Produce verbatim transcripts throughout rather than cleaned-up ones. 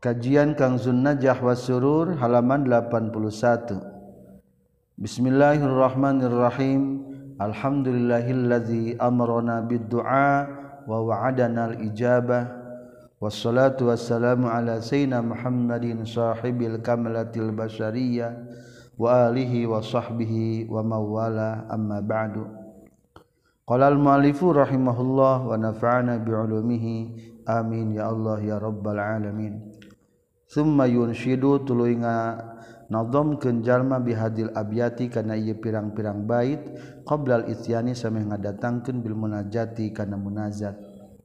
Kajian Kanzun Najah was Surur halaman delapan puluh satu. Bismillahirrahmanirrahim. Alhamdulillahillazi amarona bid-du'a wa wa'adana al-ijabah. Wassalatu wassalamu ala sayyidina Muhammadin sahibil kamalatil basyariyah wa alihi wa sahbihi wa mawala amma ba'du. Qala al-mu'allifu rahimahullah wa nafa'ana bi'ulumihi amin ya Allah ya rabbal alamin. Summa yunshidu tuluy ngadhamkeun jalma bihadil abyati kana ieu pirang-pirang bait qabla al-isyani sameh ngadatangkeun bil munajati kana munajat.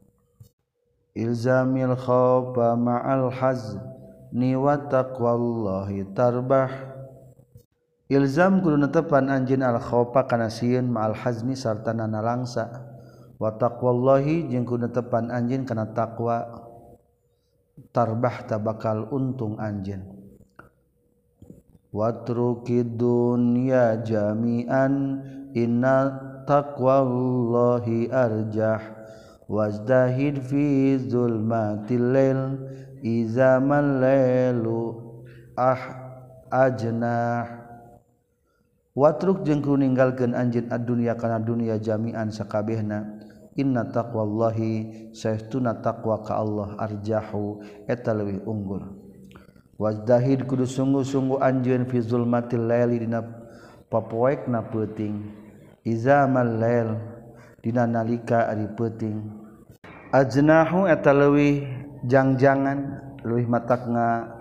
Ilzamil khawfa ma'al hazni wa taqwallahi tarbah. Ilzam kudu netepan anjeun al khawfa kana sieun ma'al hazni sarta nalangsa wa taqwallahi jeung kudu netepan anjeun kana taqwa tarbah tabakal untung anjeun. Watrukid dunya jami'an inna taqwallahi arjah wazdahid fi zulmatil lail iza malailu ah ajnah. Watruk jeung kudu ninggalkeun anjeun ad-dunya kana dunya jami'an sakabehna. Inna taqwallahi saestuna taqwa ka Allah arjahu eta leuwih unggul. Wazdahid kudu sungguh-sungguh anjeun fi zulmatil laili dina papoekna peuting. Izamal lail dina nalika ari peuting. Ajnahu eta leuwih jangjangan leuwih matakna.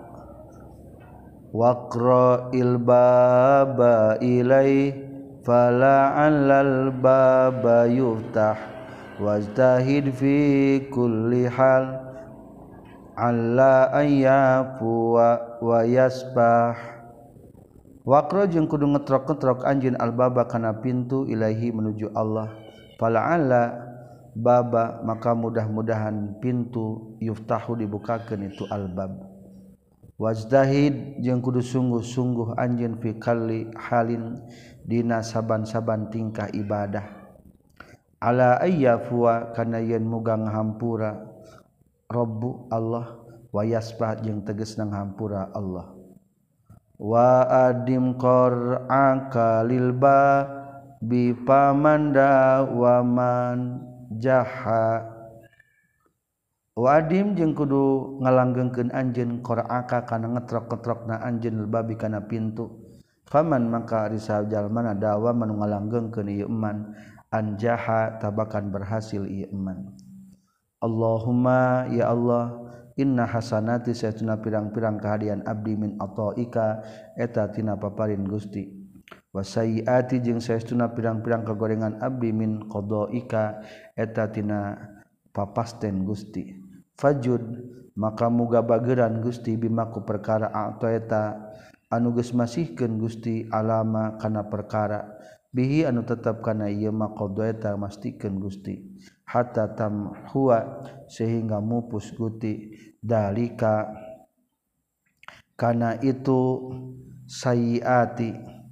Waqra'il baba ilai fala'allal baba yuftah. Wajtahid fi kulli hal alla ayyafu wa yasbah. Waqra jeung kudu ngetrok-ngetrok anjeun albaba kana pintu ilahi menuju Allah. Fala'alla baba maka mudah-mudahan pintu yuftahu dibukakeun itu albab. Wajtahid jeung kudu sungguh-sungguh anjeun fi kulli halin dina saban-saban tingkah ibadah. Ala ayyafuwa kana yen muga ngahampura Rabbu Allah wa yasbah jeung tegasna ngahampura Allah. Wa adim qur'aka lil ba bi pamanda wa man jaha. Wa adim jeung kudu ngalanggengkeun anjeun qur'aka kana ngetrok-ngetrokna anjeun lil babi kana pintu. Faman maka ari sajalmana dawa manu ngalanggengkeun ieu eman anjaha tabakan berhasil ieu iman. Allahumma ya Allah inna hasanati satuna pirang-pirang kahadian abdi min ataika eta tina paparin Gusti. Wa sayyiati jeung saestuna pirang-pirang kagorengan abdi min qadaika eta tina papasten Gusti. Fajud maka muga bageuran Gusti bimaku perkara ata eta anu geus masihkeun Gusti alama kana perkara bihi anu tetep kana ieu maqadha eta mastikeun Gusti hatta tamhuwa sehingga mupus Gusti dalika kana itu sayyiati.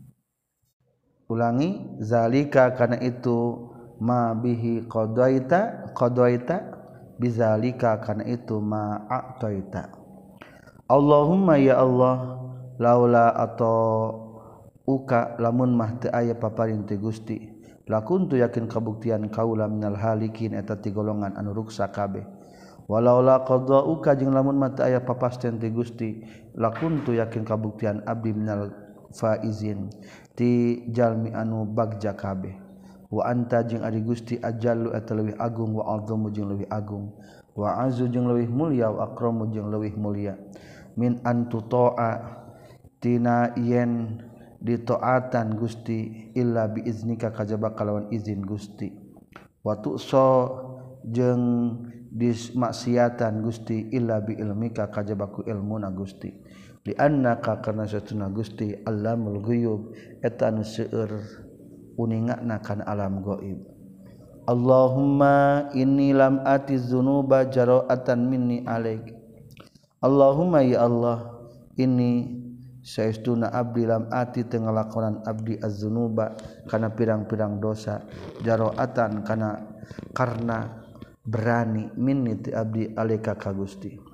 Ulangi zalika kana itu ma bihi qadaita qadaita bizalika kana itu ma a'taita. Allahumma ya Allah laula atau uka lamun mah teu aya paparin ti Gusti lakuntu yakin kabuktian kaula minal halikin eta ti golongan anu ruksa kabeh. Walaula qadauka jeung lamun mah teu aya papasten ti Gusti lakuntu yakin kabuktian abdi minal faizin ti jalmi anu bagja kabeh. Wa anta jeung ari Gusti ajallu eta leuwih agung wa azamu jeung leuwih agung wa azu jeung leuwih mulya wa akramu jeung leuwih mulya min antutoa tina yen ditaatan Gusti illa biiznika kajaba kalawan izin Gusti. Wa tu'sa jeung dismaksiatan Gusti illa bi ilmika kajaba ku ilmuna Gusti. Li annaka karna satuna Gusti Allamul ghuyub eta anu seueur uningana kana alam gaib. Allahumma inni lam ati dzunuba jara'atan minni alaik. Allahumma ya Allah inni saestuna abdi lam ati teu ngalakonan abdi az-dzunuba kana pirang-pirang dosa jaroatan kana karna berani minni ti abdi alaika ka Gusti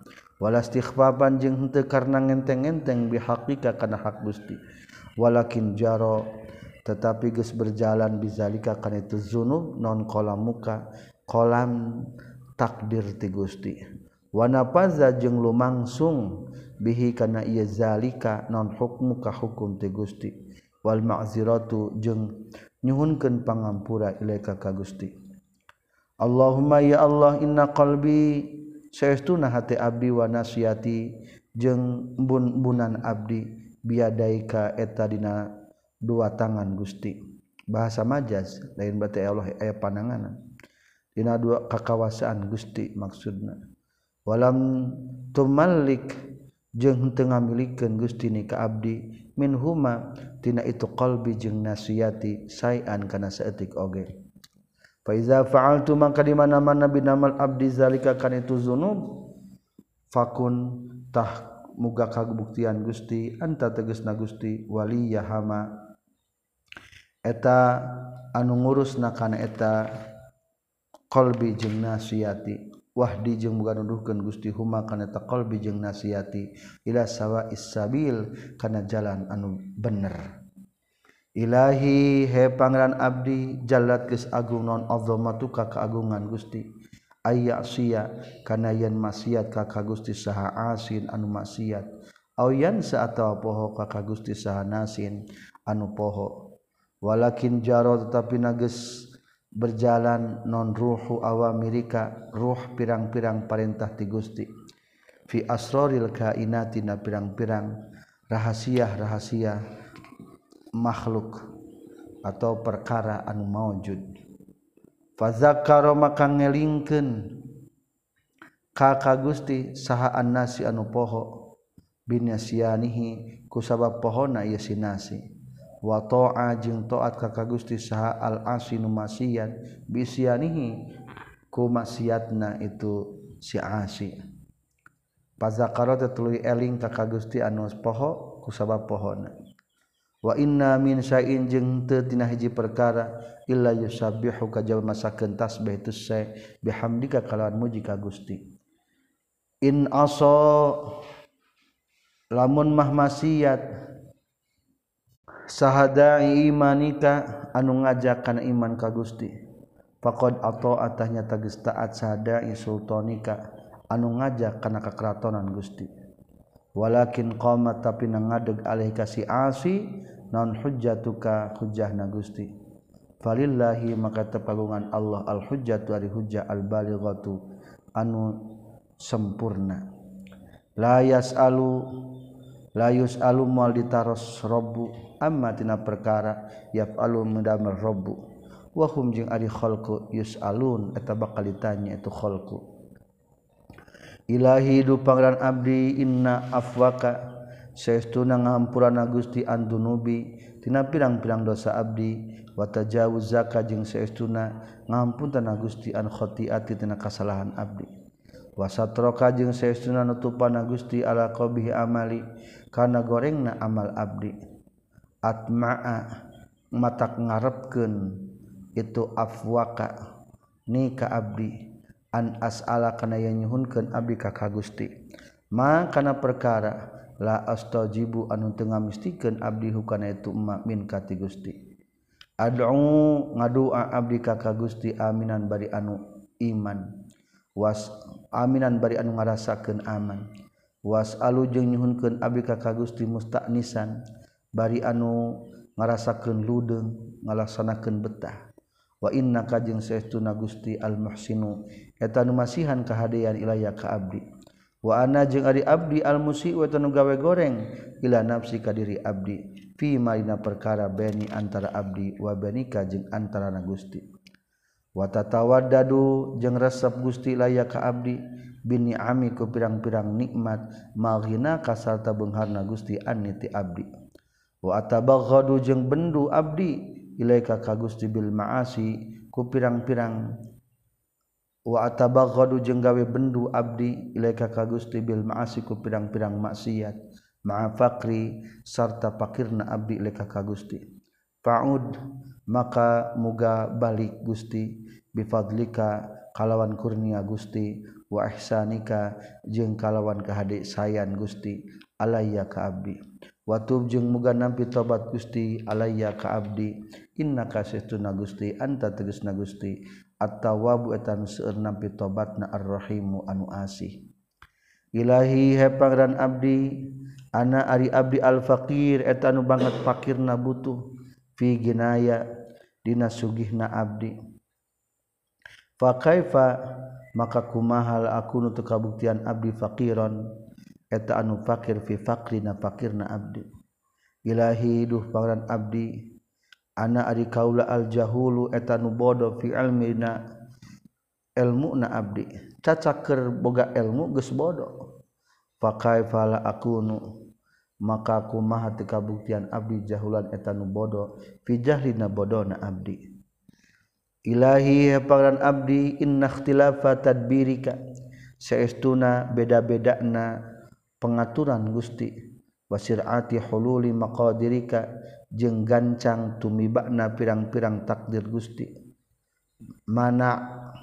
wala istighfaban jeung henteu karna ngenteng-ngenteng bihaqika kana hak Gusti walakin jaro tetapi geus berjalan bizalika kana itu zunub non kolam muka kolam takdir ti Gusti wa nafaza jeung lumangsung bihi kana ieu zalika non hukmu ka hukum ti Gusti wal ma'ziratu jeung nyuhunkeun pangampura ilaika ka Gusti Allahumma ya Allah inna qalbi saestuna hati abdi wa nasiati jeung embun-embunan abdi biadaika eta dina dua tangan Gusti bahasa majaz lain bate Allah aya pananganan dina dua kakawasaan Gusti maksudna walam tumallik jeung teu ngamilikeun Gusti ni ka abdi minhuma tina itu qalbi jeung nasiati sayan kana saeutik oge fa iza fa'altu maka di mana-mana binamal abdi zalika kana itu zunub fakun tah muga kabuktian Gusti anta tegasna Gusti waliyahama eta anu ngurusna kana eta qalbi jeung nasiati wahdi jeung muga nuduhkeun Gusti huma kana eta qalbi jeung nasiati ila sawa'is sabil kana jalan anu bener Ilahi he pangeran abdi jallat geus agung non azamatuka kaagungan Gusti ayya sia kana yen maksiat ka ka Gusti saha asin anu maksiat au yan saatawa poho ka ka Gusti saha nasin anu poho walakin jaro tetapi nageus berjalan non ruhu awamirika ruh pirang-pirang perintah ti Gusti fi asraril kainati na pirang-pirang rahasia-rahasia makhluk atau perkara anu maujud fazakara maka ngelingkeun ka ka Gusti saha annasi anu poho binasyanihi kusabab pohona ieu si nasi wa ta'a jeung taat ka ka Gusti saha al asinu maksiat bisyanihi ku maksiatna itu si asi fazakara tuluy eling ka ka Gusti anu poho kusabab pohona wa inna min syai'in jeung teu tina hiji perkara illa yusabbihu ka jalma sakeun tasbih tu sa bihamdika kalawan muji ka Gusti in asa lamun mah maksiat sahadai imanika anu ngajak kana iman ka Gusti faqad ata'atahnya tagis taat sahadai sultanika anu ngajak kana kakratonan Gusti walakin qamat tapi nangadeg alih kasih asi non hujjatuka hujjahna Gusti falillahi maka tepagungan Allah al hujjatu ari hujjah al balighatu anu sempurna la yasalu la yusalu mal ditaros rabbu amma tina perkara yafalu mudamar rabbu wa hum jeung ari khalqu yusalun eta bakal ditanya itu khalqu Ilahi du pangeran abdi inna afwaka saestuna ngahampurana Gusti andunubi tina pirang-pirang dosa abdi wa tajawuzaka jeung saestuna ngahampuntana Gusti an khati'ati tina kasalahan abdi wa satroka jeung saestuna nutupana Gusti ala qabihi amali kana gorengna amal abdi atma'a matak ngarepkeun itu afwaka ni ka abdi an as'ala kana yen nyuhunkeun abdi ka ka Gusti ma kana perkara la astajibu anu teu ngamistikeun abdi hukana itu ma min ka ti Gusti ad'u ngadua abdi ka ka Gusti aminan bari anu iman was aminan bari anu ngarasakeun aman was'alu jeung nyuhunkeun abdi ka ka Gusti musta'nisan bari anu ngarasakeun ludeung ngalaksanakeun betah wa innaka jeung saestuna Gusti al muhsinu eta nu masihan kahadean ilaya ka abdi wa ana jeung ari abdi al musii'u eta nu gawe goreng ila nafsi ka diri abdi fi marina perkara bani antara abdi wa banika jeung antarana Gusti wa tatawaddadu jeung resep Gusti ilaya ka abdi bini'ami ku pirang-pirang nikmat maghina kasarta beungharna Gusti anniti abdi wa atabaghadu jeung bendu abdi ilaika ka Gusti bil ma'asi ku pirang-pirang wa atabaghadu jeung gawe bendu abdi ilaika ka Gusti bil ma'asi ku pirang-pirang maksiat ma'a faqri sarta pakirna abdi ilaika ka Gusti fa'ud maka muga balik Gusti bi fadlika kalawan kurnia Gusti wa ihsanika jeung kalawan kahade sayan Gusti alayya ka abdi wa tub jeung muga nampi tobat Gusti alayya ka abdi innaka saestuna Gusti anta tegasna Gusti at-tawwabu eta nu seueur nampi tobatna ar-rahimu anu asih ilahi he pangeran abdi ana ari abdi al-faqir eta anu banget fakirna butuh fi ginaya dina sugihna abdi fa kaifa maka kumahal aku nu teu kabuktian abdi faqiron eta anu fakir fi faqrina fakirna abdi ilahi duh pangeran abdi ana ari kaula al jahulu eta nu bodoh fi ilmina ilmuna abdi cacak keur boga ilmu geus bodoh fa kaifa la akunu maka kumaha teu kabuktian abdi jahulan eta nu bodoh fi jahlina bodohna abdi ilahi pangeran abdi inna ikhtilafa tadbirika saestuna beda-bedana pengaturan Gusti wasirati hululi maqadirika jeung gancang tumibana pirang-pirang takdir Gusti mana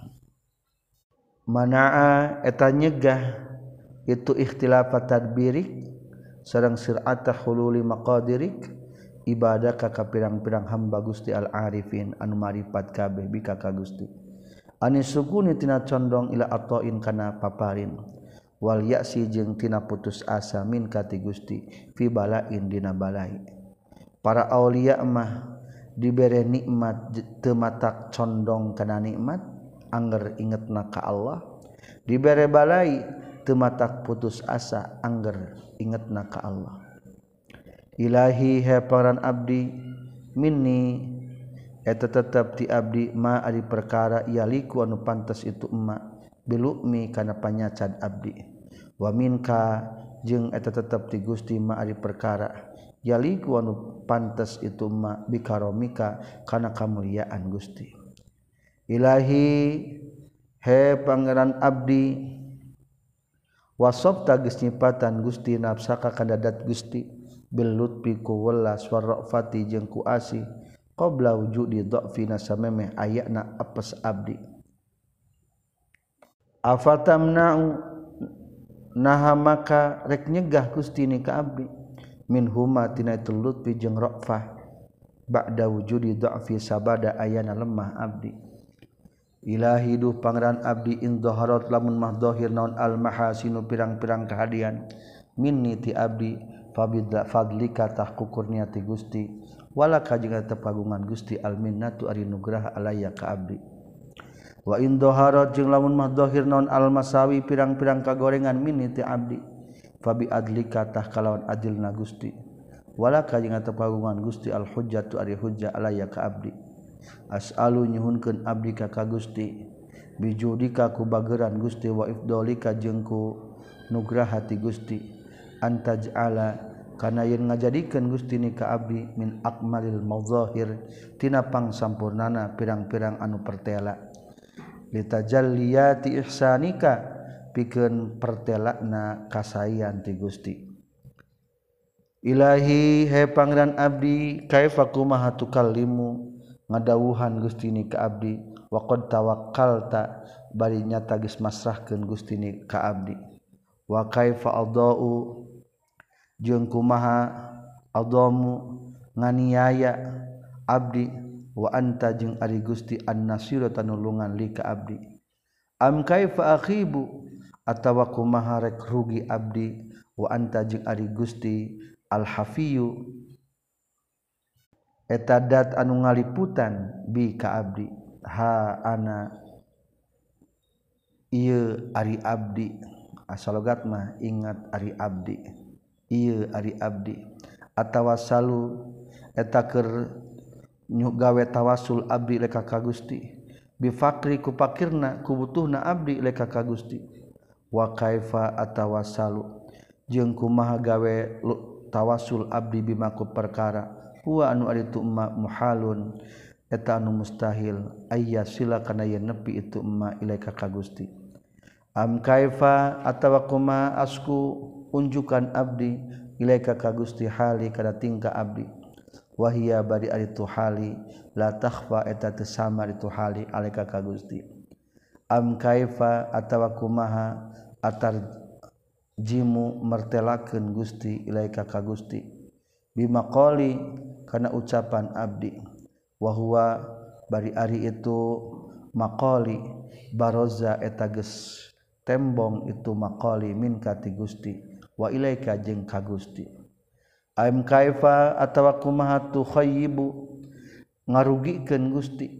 manaa eta nyegah itu ikhtilafa tadbirik sareng sirata hululi maqadirik ibadah ka pirang-pirang hamba Gusti al-arifin anu marifat kabeh bika ka Gusti anis sukuni tina condong ila atain kana paparin wal ya'si jeung tina putus asa min kati Gusti fi balain dina balai para aulia mah dibere nikmat teu matak condong kana nikmat angger ingetna ka Allah dibere balai teu matak putus asa angger ingetna ka Allah ilahi he pangeran abdi minni eta tetep ti abdi ma ari perkara yaliku anu pantes itu emma bilukmi kana panyacad abdi wa minka jeung eta tetep ti Gusti ma ari perkara yaliku anu pantes itu emma bikaromika kana kamuliaan Gusti ilahi he pangeran abdi wasabta geus nyipatan Gusti nafsaka kana dat Gusti bil lutfi ku welas warrafati jeung ku asih qabla wujudi dhafina samemeh ayana apes abdi afatamna'u naha maka rek nyegah Gusti ni ka abdi min huma tina itu lutfi jeung rafah ba'da wujudi dhafi sabada ayana lemah abdi ilahi duh pangeran abdi in dhaharat lamun mah dhahir naon al mahasinu pirang-pirang kahadian minni ti abdi fabidla fadlika tahkukurnia ti Gusti wala kajenga tepagungan Gusti alminnatu ari nugrah alayya ka abdi wa in dhaharat jeung lamun mah dhahir naon al masawi pirang-pirang kagorengan minni ti abdi fabi adlika tah kalawan adilna Gusti wala kajenga tepagungan Gusti al hujjatu ari hujjah alayya ka abdi as'alu nyuhunkeun abdi ka ka Gusti bijudika ku bageran Gusti wa ifdolika jeung ku nugrah hati Gusti antaj'ala kana yen ngajadikeun Gusti ni ka abdi min akmalil madzahir tina pangsampurnana pirang-pirang anu pertela litajalliyati ihsanika pikeun pertelana kasayan ti Gusti ilahi he pangeran abdi kaifa kumaha tukallimu ngadawuhan Gusti ni ka abdi wa qad tawakkalta bari nyata geus masrahkeun Gusti ni ka abdi wa kaifa adau jeung kumaha adamu nganiaya abdi wa anta jeung ari Gusti an-nasiru tanulungan li ka abdi am kaifa akhibu atawa kumaha rek rugi abdi wa anta jeung ari Gusti al-hafiyu eta dat anu ngaliputan bi ka abdi ha ana ieu ari abdi asalogat mah ingat ari abdi ieu ari abdi atawasalu eta keur gawe tawasul abdi leka ka Gusti bi faqri ku fakirna ku butuhna abdi leka ka Gusti wa kaifa atawasalu jeung kumaha gawe tawasul abdi bima ku perkara huwa anu ari tu emma muhalun eta anu mustahil ayya sila kana yen nepi itu emma ilaika ka Gusti am kaifa atawa kumaha asku unjukan abdi ilaika ka Gusti hali kana tingkah abdi wahia bari ari tu hali la takhfa eta teu samar itu hali alaika ka Gusti am kaifa atawa kumaha atar jimu mertelakeun Gusti ilaika ka Gusti bima qali kana ucapan abdi wa huwa bari ari itu maqali baroza eta geus tembong itu maqali min kati Gusti wa ilaika jeung ka Gusti am kaifa atawa kumaha tu khayyibu ngarugikeun Gusti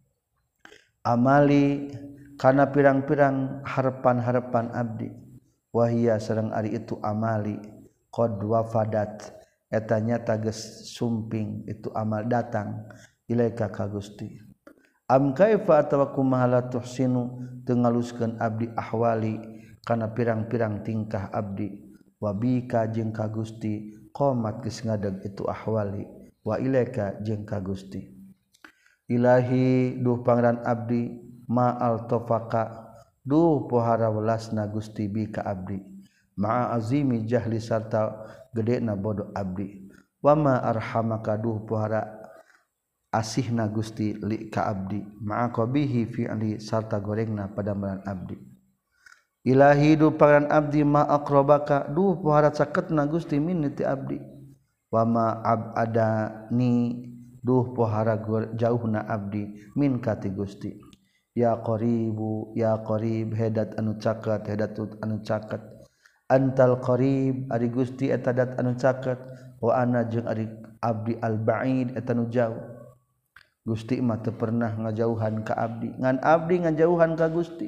amali kana pirang-pirang harapan-harapan abdi wahia sareng ari itu amali qad wafadat eta nyata geus sumping itu amal datang ilaika ka Gusti am kaifa atawa kumaha la tuhsinu teu ngaluskeun abdi ahwali kana pirang-pirang tingkah abdi wa bika jeung ka Gusti qomat geus ngadeg itu ahwali wa ilaika jeung ka Gusti ilahi duh pangeran abdi ma altafaka duh pohara welasna Gusti bika abdi ma'a azimi jahli sarta gedena bodoh abdi wa ma arhamaka duh pohara asihna Gusti li ka abdi ma'a qabihi fi'li sarta gorengna padamaran abdi ilahi duh pangeran abdi ma aqrabaka duh pohara caketna Gusti min ti abdi wa ma abadani duh pohara jauhna abdi min kati Gusti ya qaribu ya qarib hedat anu caket hedat anu caket antal qarib ari Gusti eta dat anu caket wa ana jeung ari abdi al ba'id eta nu jauh Gusti mah teu pernah ngajauhan ka abdi ngan abdi ngajauhan ka Gusti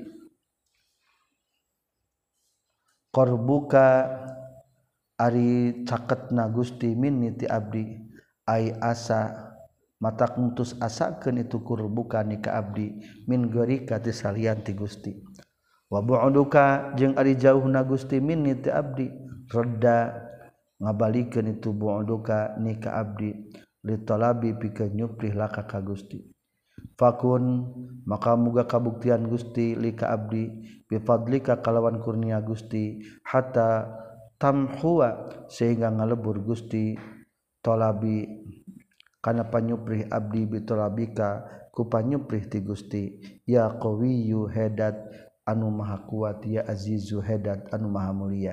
qarbuka ari caketna Gusti min ti abdi ai asa matak mutus asakeun itu kurbuka ni ka abdi min gorika ti salian ti Gusti wa bu'duka jeung ari jauhna Gusti min ti abdi radda ngabalikeun itu bu'duka ni ka abdi li talabi pikeun nyuprih laka ka Gusti fakun maka muga kabuktian Gusti li ka abdi bi fadlika kalawan kurnia Gusti hatta tamhuwa sehingga ngalebur Gusti talabi kana panyuprih abdi bitalabika ku panyuprih ti Gusti ya qawiyyu hedat anu maha kuat ya azizu hedat anu maha mulia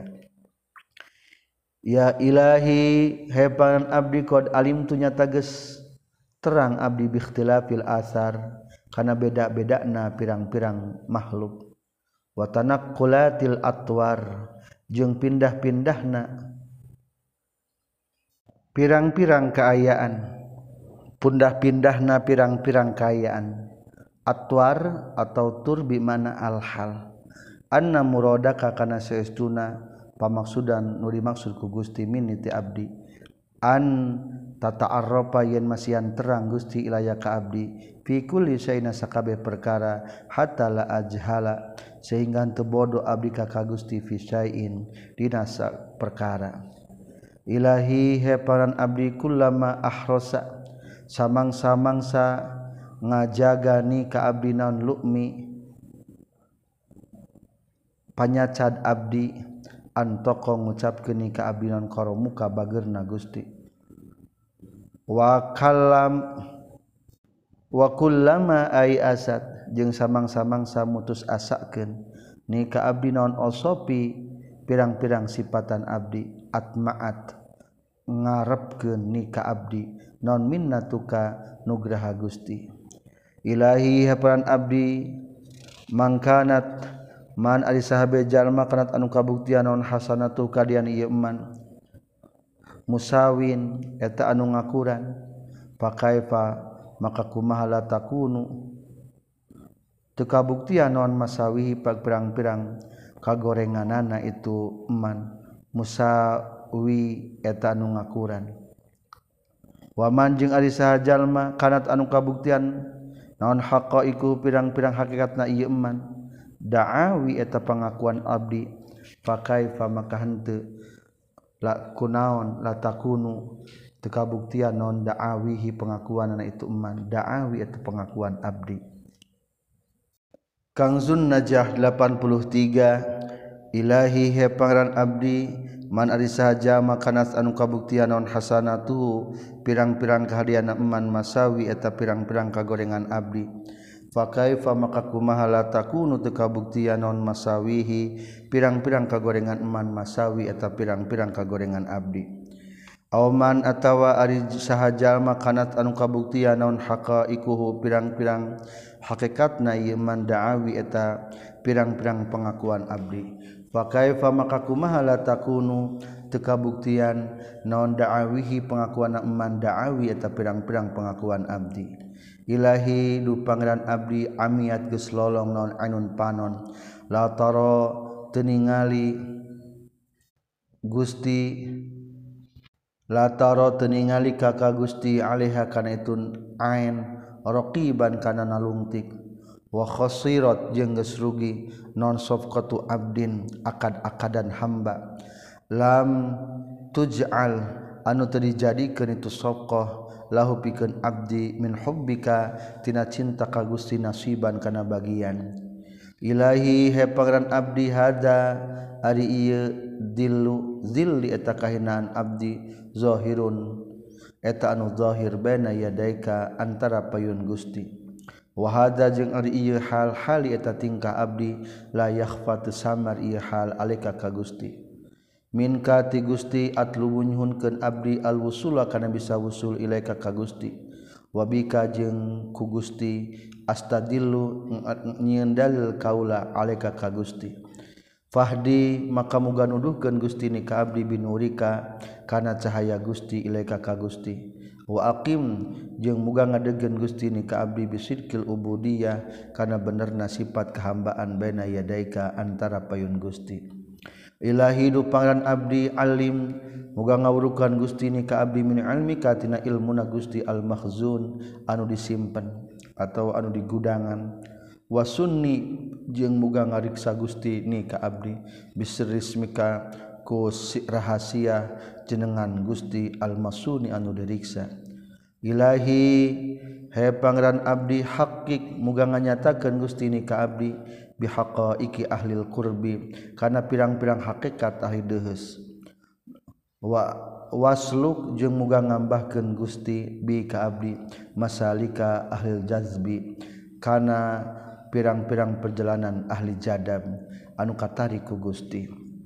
ya ilahi hepan abdi qad alim tu nyata geus terang abdi bi ikhtilafil asar kana beda-bedana pirang-pirang makhluk wa tanaqqulatil atwar jeung pindah-pindahna pirang-pirang kaayaan pundah-pindahna pirang-pirang kaayaan atwar atau tur bi mana al-hal anna muradaka kana saestuna pamaksudan nu dimaksud ku Gusti min ti abdi an tata'arrafa yen masian terang Gusti ilaya ka abdi fi kulli shay'in sakabeh perkara hatta la ajhala sehingga teu bodoh abdi ka Gusti fi syai'in dina perkara ilahi heparan abdi kullama ahrosa samang-samangsa ngajaga ni ka abdi naon lu'mi panyacad abdi antoko ngucapkeun ni ka abdi naon karamuka bageurna Gusti wa kallam wa kullama ai asad jeung samang-samangsa mutus asakeun ni ka abdi naon osopi pirang-pirang sifatan abdi atmaat ngarepkeun ni ka abdi non minnatuka nugraha Gusti ilahi haparan abdi mangkanat man ari sahabe jalma kanat anu kabuktian non hasanatu kadian ieu man musawin eta anu ngakuran pakaifa maka kumaha la takunu teu kabuktian non masawihi pirang-pirang kagorenganana itu man musawi eta anu ngakuran waman jeung ari saha jalma kanat anu kabuktian naon haqaiqu pirang-pirang hakikatna ieu man da'awi eta pangakuan abdi fakaifa maka henteu la kunaon la takunu teu kabuktian naon da'awihi pengakuanna itu man da'awi eta pengakuan abdi Kangzun Najah delapan puluh tiga ilahi he pangeran abdi man ari sahaja makanas anu kabuktian naon hasanatu pirang-pirang kahadiana eman masawi eta pirang-pirang kagorengan abdi fa kaifa maka kumaha la takunu teu kabuktian naon masawihi pirang-pirang kagorengan eman masawi eta pirang-pirang kagorengan abdi auman atawa ari saha jalma kanat anu kabuktian naon haqaiquhu pirang-pirang hakikatna ieu man da'awi eta pirang-pirang pengakuan abdi fa kaifa maka kumaha la takunu teu kabuktian naon da'awihi pengakuan eman da'awi eta pirang-pirang pengakuan abdi Ilahi du pangeran abdi amiat geus lolong naon ainun panon la tara teu ningali Gusti la tara teu ningali ka ka Gusti alaiha kana itun ain raqiban kana nalungtik wa khasirat jeung geus rugi non safqatu abdin akad-akadan hamba lam tuj'al anu teu dijadikeun itu safqah lahu pikeun abdi min hubbika tina cinta ka Gusti nasiban kana bagian ilahi he pangeran abdi hada ari ieu dillu zilli eta kahinaan abdi zahirun eta anu zahir baina yadaika antara payun Gusti wa hada jeung ari ieu hal hali eta tingkah abdi la yakhfa teu samar ieu hal alika ka Gusti minka ti Gusti atlubu nyuhunkeun abdi alwusula kana bisa wusul ilaika ka Gusti wabika jeung ku Gusti astadillu nyieun dalil kaula alaika ka Gusti fahdi maka muga nuduhkeun Gusti ni ka abdi binurika kana cahaya Gusti ilaika ka Gusti wa aqim jeung muga ngadegkeun Gusti ni ka abdi bisidqil ubudiyah kana benerna sifat kehambaan baina yadaika antara payun Gusti Ilahi du pangeran abdi alim muga ngawurukan Gusti ni ka abdi min ilmika tina ilmuna Gusti al makhzun anu disimpen atau anu digudangan wa sunni jeung muga ngariksa Gusti ni ka abdi bisrismika ku rahasia jenengan Gusti al masuni anu diriksa Ilahi he pangeran abdi hakik muga nganyatakeun Gusti ni ka abdi bihaqaiqi ahlil qurbi kana pirang-pirang hakikat ahli deus wa wasluk jeung muga ngambahkeun Gusti bi ka abdi masalika ahlil jazbi kana pirang-pirang perjalanan ahli jadab anu katari ku Gusti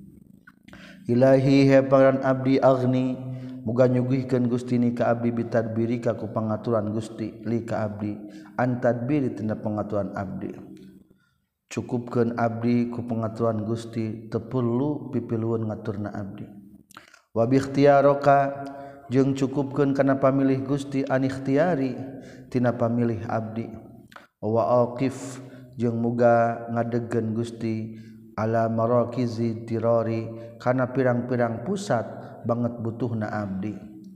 Ilahi he pangeran abdi agni muga nyuguhkeun Gusti ni ka abdi bitadbirika ku pangaturan Gusti li ka abdi antadbiri tina pangaturan abdi cukupkeun abdi ku pangaturan Gusti teu perlu pipilueun ngaturna abdi wa bi ikhtiyaraka jeung cukupkeun kana pamilih Gusti an ikhtiyari tina pamilih abdi wa aqif jeung muga ngadegkeun Gusti ala marakizi tirari kana pirang-pirang pusat banget butuhna abdi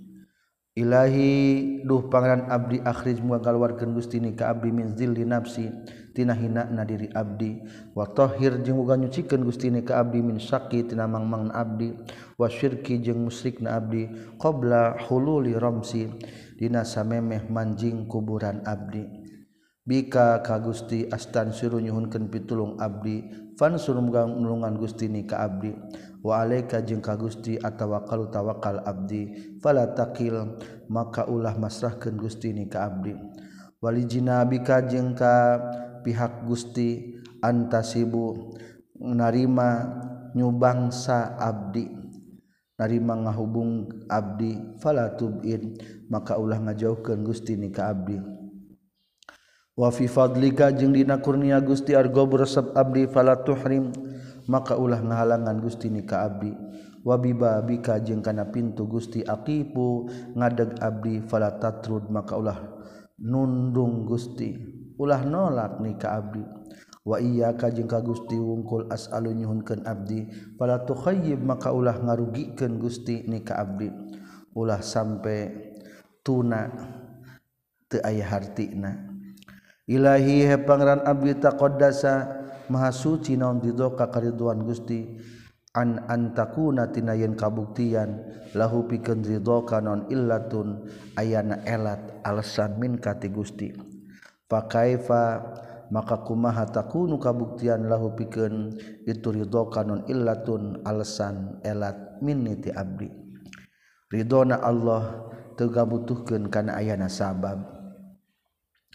Ilahi duh pangeran abdi akhrij muga ngaluarkeun Gusti ni ka abdi min zilli nafsi tina hinana diri abdi wa tahhir jeung muga nyucikeun Gusti ni ka abdi min syaqi tina mangmang abdi wa syirki jeung musyrikna abdi qabla hululi ramsi dina samemeh manjing kuburan abdi bika ka Gusti astan suruh nyuhunkeun pitulung abdi fansur muga nulungan Gusti ni ka abdi wa alaika jeung ka Gusti atawakkal tawakal abdi fala takil maka ulah masrahkeun Gusti ni ka abdi walijina bika jeung ka pihak Gusti antasibu narima nyubangsa abdi narima ngahubung abdi fala tubin maka ulah ngajauhkeun Gusti ni ka abdi wa fi fadlika jeung dina kurnia Gusti argo beresep abdi fala tuhrim maka ulah ngahalangan Gusti ni ka abdi wa bibabika jeung kana pintu Gusti aqipu ngadeg abdi fala tatrud maka ulah nundung Gusti ulah nolak ni ka abdi wa iyyaka jeung ka Gusti wungkul as'alu nyuhunkeun abdi fala tukhayyib maka ulah ngarugikeun Gusti ni ka abdi ulah sampe tuna teu aya hartina Ilahi he pangeran abdi taqaddasa maha suci naon ridhoka karidhoan Gusti an antakuna tina yen kabuktian lahu pikeun ridhoka naon illatun ayana elat alasan min kati Gusti fa kaifa maka kumaha takunu kabuktian lahu pikeun itu ridhoka naon illatun alasan elat min ti abdi ridona Allah teu gabutuhkeun kana ayana sabab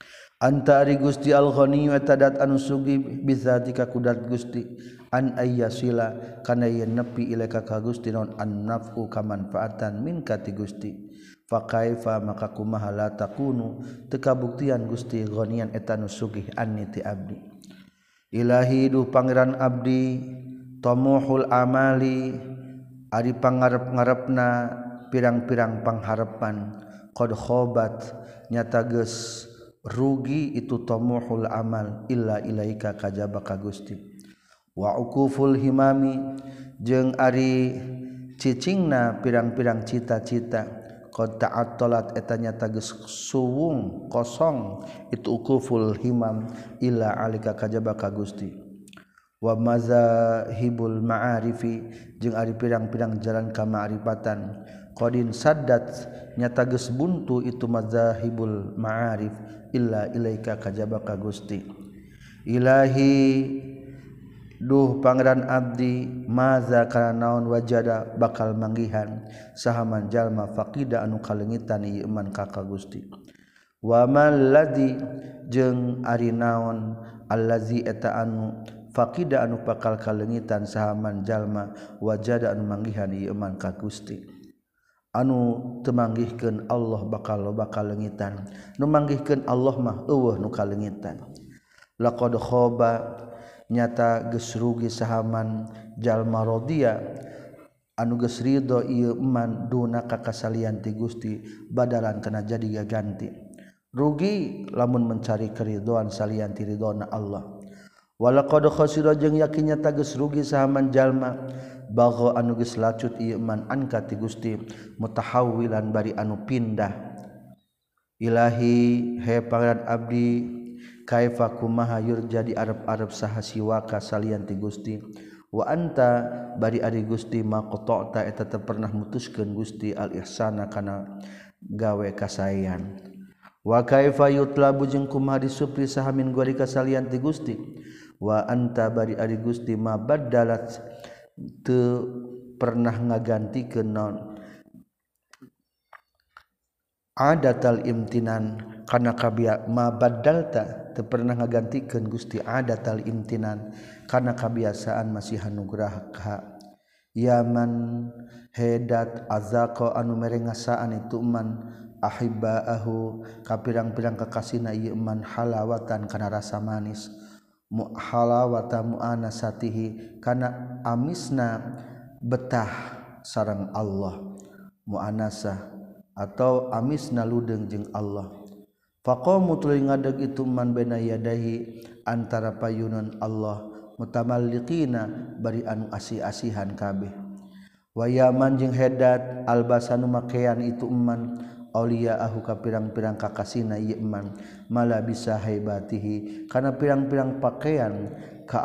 anta ari Gusti al-ghani wa tadat anu sugi bizatika kudat Gusti an ayyasila kana yen nepi ilaika ka Gusti naon an-naf'u kamanfaatan min ka ti Gusti fa kaifa maka kumaha la takunu teu kabuktian Gusti ghanian eta nu sugih anni ti abdi ilahi duh pangeran abdi tamuhul amali ari pangarep-ngarepna pirang-pirang pangharepan qad khobat nyata geus rugi itu tamuhul amal illa ilaika kajaba ka Gusti wa uquful himami jeung ari cicingna pirang-pirang cita-cita qad ta'attalat eta nyata geus suwung kosong itu uquful himam illa alika kajaba ka Gusti wa mazahibul ma'arifi jeung ari pirang-pirang jalan ka ma'rifatan qadin saddat nyata geus buntu itu mazahibul ma'arif illa ilaika kajaba ka Gusti ilahi duh pangeran abdi maza kana naon wajada bakal manggihan sahaman jalma faqida anu kalengitan ieu iman ka ka Gusti wa mal ladzi jeung ari naon allazi eta anu faqida anu bakal kalengitan sahaman jalma wajada anu manggihan ieu iman ka Gusti anu teu manggihkeun Allah bakal loba kalengitan nu manggihkeun Allah mah eueuh nu kalengitan laqad khaba nyata geus rugi sahaman jalma rodiya anu geus ridho ieu iman duna ka kasalian ti Gusti badalan kana jadi gaganti rugi lamun mencari keridhoan salian ti ridhona Allah walaqad khasira jeung yakin nyata geus rugi sahaman jalma bagho anu geus lacut ieu iman anka ti Gusti mutahawwilan bari anu pindah ilahi he pangeran abdi kaifa kumaha yurjadi arep-arep saha siwaka salian ti Gusti wa anta bari ari Gusti maqta'ta eta teu pernah mutuskeun Gusti al ihsana kana gawe kasaean wa kaifa yutlabu jeung kumaha disupri saha min gori kasalian ti Gusti wa anta bari ari Gusti ma badalat teu pernah ngagantikeun naon adatal imtinan kana kabia ma badalta teu pernah ngagantikeun Gusti adatal imtinan kana kabiasaan masih anugerah ka yaman hedat azaqa anu mere ngasaan itu man ahibbaahu ka pirang-pirang kakasina ieu man halawatan kana rasa manis mu halawata muanasatihi kana amisna betah sareng Allah muanasah atau amisna ludeung jeung Allah faqamu tuluy ngadeg itu man baina yadahi antara payunan Allah mutamalliqina bari anu asih-asihan kabeh wa yaman jeung hedat albasanu makean itu man auliyaahu ka pirang-pirang kakasina ieu man mala bisa haibatihi kana pirang-pirang pakaian ka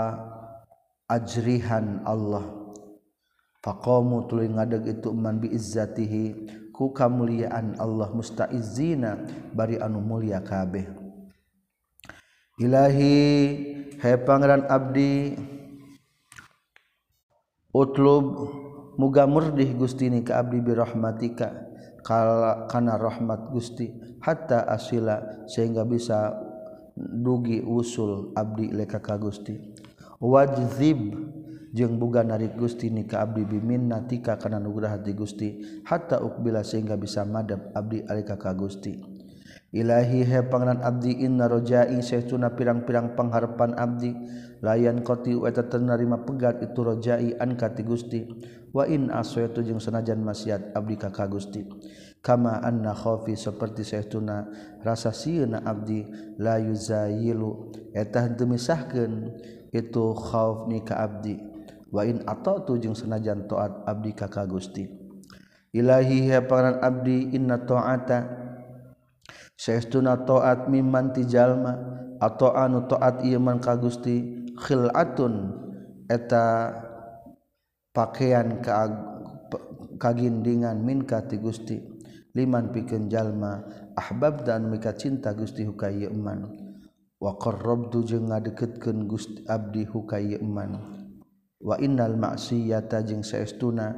ajrihan Allah faqamu tuluy ngadeg itu man bi izzatihi ku kamuliaan Allah mustaizina bari anu mulia kabeh ilahi he pangeran abdi utlub muga murdih Gusti ni ka abdi bi rahmatika kana rahmat Gusti hatta asila sehingga bisa dugi usul abdi leka ka Gusti wajzib jeung boga narik Gusti ni ka abdi biminnatika kana nugrah ti Gusti hatta ukbila sehingga bisa madab abdi alika ka Gusti ilahi he pangeran abdi inna rojai saestuna pirang-pirang pangharepan abdi layan qati eta teu narima pegat itu rojai an ka ti Gusti wa in aswatu jeung sanajan maksiat abdi ka ka Gusti kama anna khaufi saperti saestuna rasa sieuna abdi la yuzayilu eta henteu misahkeun itu khauf ni ka abdi wa in ata'tu jeung sanajan taat abdi ka ka Gusti ilahi ya pangeran abdi inna ta'ata saestuna taat mimman ti jalma atau anu taat ieu man ka Gusti khilatun eta pakaian ka kagindingan min ka ti Gusti liman pikeun jalma ahbab dan mika cinta Gusti hukaya ieu man wa qarrabtu jeung ngadeukeutkeun Gusti abdi hukaya ieu man wa innal maksiyata jeung saestuna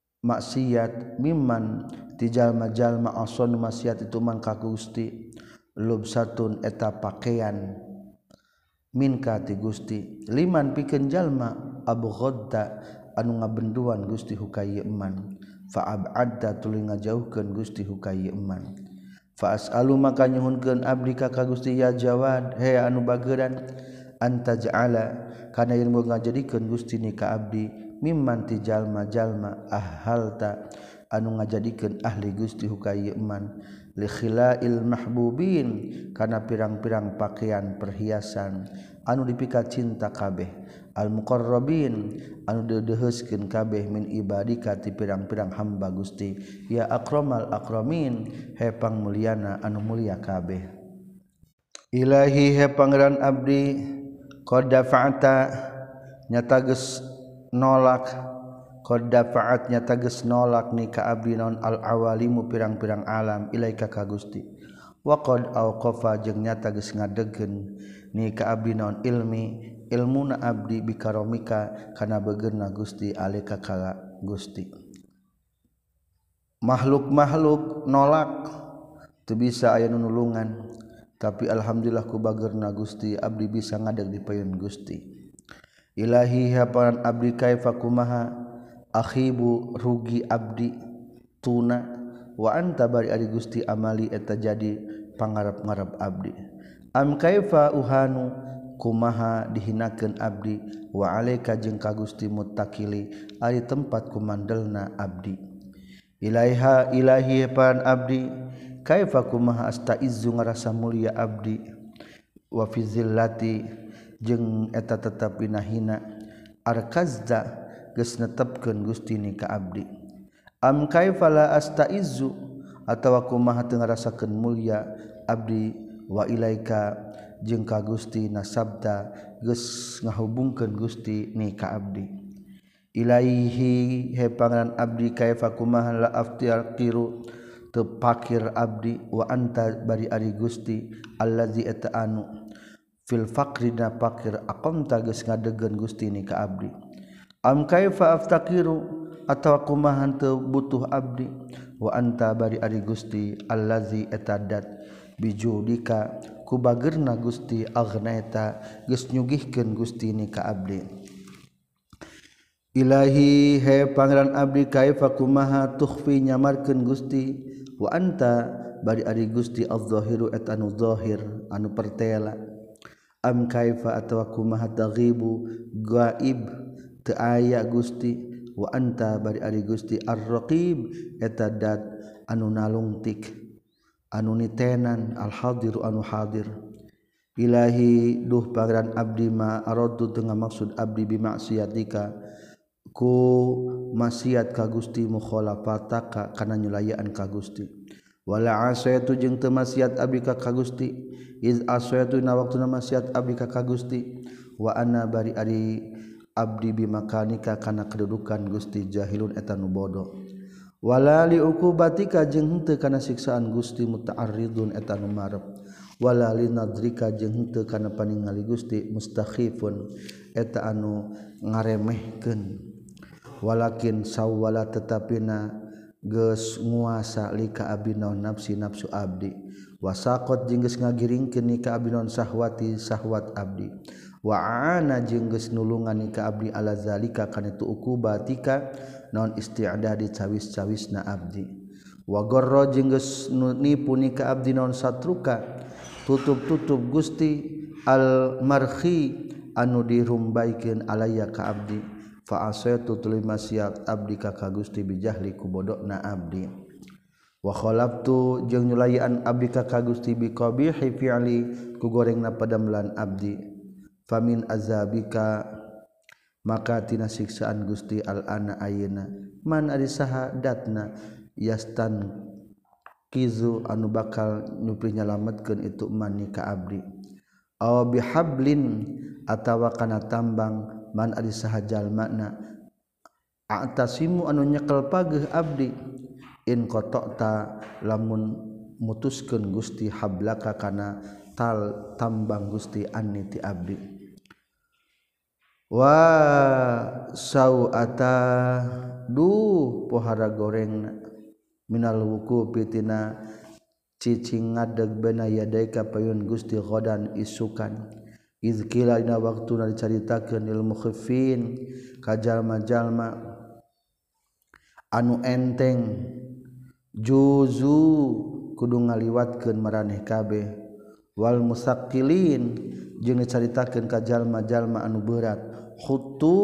maksiat mimman ti jalma-jalma ason maksiat itu man ka Gusti lubsatun eta pakaian minka ti Gusti liman pikeun jalma abghadda anu ngabenduan Gusti hukai eman fa ab'adda tuluy ngajauhkeun Gusti hukai eman fa as'alu maka nyuhunkeun abdi ka Gusti ya Jawad he anu bageuran anta ja'ala kana ilmu ngajadikeun Gusti ni ka abdi mimman ti jalma-jalma ahalta anu ngajadikeun ahli Gusti hukai eman li khilail mahbubin kana pirang-pirang pakaian perhiasan anu dipika cinta kabeh al muqarrabin anu dideheuskeun kabeh min ibadika ti pirang-pirang hamba Gusti ya akramal akramin he pangmulyana anu mulia kabeh ilahi he pangeran abdi qad dafa'ta nyata geus nolak qad dafa'at nyata geus nolak ni ka abdi naon al awalimu pirang-pirang alam ilaika ka Gusti wa qad auqafa jeung nyata geus ngadegkeun ni ka abdi naon ilmi ilmuna abdi bikaromika kana begeurna Gusti alika ka Gusti makhluk-makhluk nolak teu bisa aya nulungan tapi alhamdulillah ku bageurna Gusti abdi bisa ngadeg di payun Gusti ilahi haparan abdi kaifa kumaha akhibu rugi abdi tuna wa anta bari ari Gusti amali eta jadi pangarep-ngarep abdi am kaifa uhanu kumaha dihinakeun abdi wa alaika jeung ka Gusti muttaqili ari tempat kumandelna abdi ilaiha ilahi pan abdi kaifa kumaha astaizzu ngarasa mulia abdi wa fi zillati jeung eta tetep dina hina arkazda geus netepkeun Gusti ni ka abdi am kaifa la astaizzu atawa kumaha teu ngarasakeun mulia abdi wa ilaika jeung ka Gusti nasabda geus ngahubungkeun Gusti ni ka abdi ilaihi he pangeran abdi kaifa kumaha la aftiru teu pakir abdi wa anta bari ari Gusti allazi eta anu fil faqri na pakir aqamta geus ngadegeun Gusti ni ka abdi am kaifa aftakiru atawa kumaha teu butuh abdi wa anta bari ari Gusti allazi eta dat bijudika ku bageurna Gusti agnaita geus nyugihkeun Gusti ni ka abdi ilahi he pangeran abdi kaifa kumaha tukhfi nyamarkeun Gusti wa anta bari ari Gusti adz-dzahiru et anu zahir anu pertela am kaifa atawa kumaha taghibu gaib teu aya Gusti wa anta bari ari Gusti ar-raqib eta dat anu nalungtik anu nitenan al-hadiru anu hadir ilahi duh pangeran abdi ma aradu teu maksud abdi bi maksiatika ku maksiat ka Gusti mukhalafataka kana nyulayaan ka Gusti wala asayatu jeung teu maksiat abdi ka Gusti iz asayatu na waktuna maksiat abdi ka Gusti wa ana bari ari abdi bi makanika kana kedudukan Gusti jahilun eta nu bodoh wala li uqubatika jeung henteu kana siksaan Gusti muta'arridun eta nu marep wala li nadrika jeung henteu kana paningali Gusti mustakhifun eta anu ngaremehkeun walakin sawwala tetapina geus nguasa lika abdi naon nafsi nafsu abdi wasaqat jeung geus ngagiringkeun ni ka abdi naon sahwati sahwat abdi wa aana jeung geus nulungan ni ka abdi ala zalika kana tu uqubatika naon isti'dadi cawis-cawisna abdi wa garra jeung geus nipu ni ka abdi naon satruka tutup-tutup Gusti al marhi anu dirumbaikeun alaya ka abdi fa asaitu tuluy maksiat abdi ka Gusti bijahli ku bodona abdi wa khalaftu jeung nyulayan abdi ka Gusti bi qabihi fi'li ku gorengna padamlan abdi famin azabika maka tina siksaan Gusti al-ana ayeuna man ari saha datna yastan kizu anu bakal nyupri nyalametkeun itu man ni ka abdi aw bihablin atawa kana tambang man ari saha jalmana atasimu anu nyekel pageuh abdi in qata'ta lamun mutuskeun Gusti hablaka kana tal tambang Gusti anni ti abdi wa sau'ata du pohara goreng minal wuku pitina cicing ngadeg bena yadaika payun Gusti ghadan isukan izkila dina waktuna dicaritakeun ilmu khifin ka jalma-jalma anu enteng juzu kudu ngaliwatkeun maraneh kabeh wal musaqqilin jeung dicaritakeun ka jalma-jalma anu berat khutu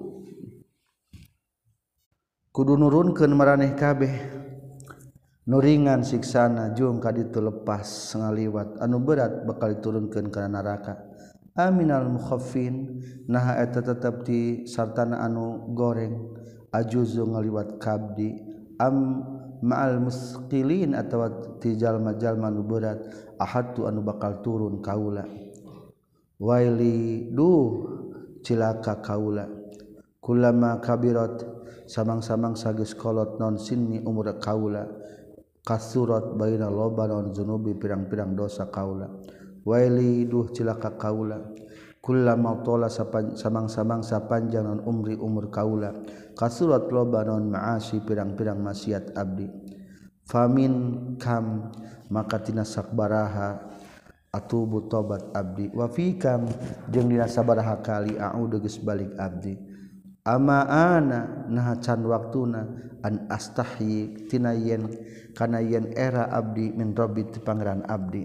kudu nurunkeun maraneh kabeh nuringan siksana jeung kaditu lepas ngaliwat anu berat bakal diturunkeun kana neraka aminal mukhaffin nah eta tetep di sartana anu goreng ajuzu ngaliwat kabdi am ma'al musqilin atawa ti jalma-jalma anu berat ahatu anu bakal turun kaula waili duh cilaka kaula kullama kabirat samang-samang sageus kolot non sinni umur kaula kasurat baina loba non zunubi pirang-pirang dosa kaula waili duh cilaka kaula kullama tola samang-samang sapanjang non umri umur kaula kasurat loba non maasi pirang-pirang maksiat abdi famin kam maka tina sakbaraha atubu tobat abdi wa fikam jeung dina sabaraha kali a'udu geus balik abdi ama ana nah can waktuna an astahyi tina yen kana yen era abdi min rabbi ti pangeran abdi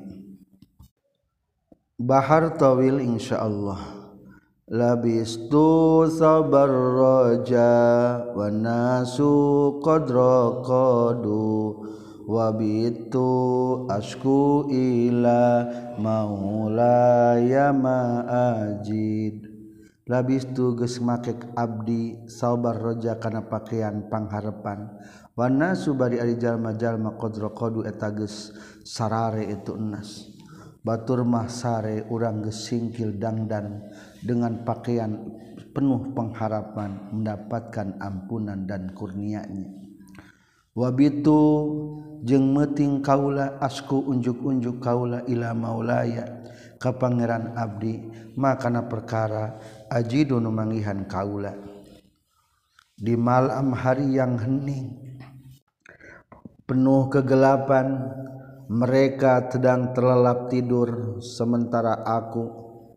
bahar tawil insyaallah labistu sabar raja wa nasu qadra qadu wa bitu asku ila maulaya ma'ajid labistu geus make abdi sabar raja kana pakaian pangharepan wa nasu bari ari jalma-jalma qadra qadu eta geus sarare itu enas batur mah sare urang geus singkil dangdan dengan pakaian penuh pengharapan mendapatkan ampunan dan kurnia-Nya wabitu jeung meuting kaula asku unjuk-unjuk kaula ila maulaya ka pangeran abdi makana perkara ajidu nu mangihan kaula di malam hari yang hening penuh kegelapan mereka sedang terlelap tidur sementara aku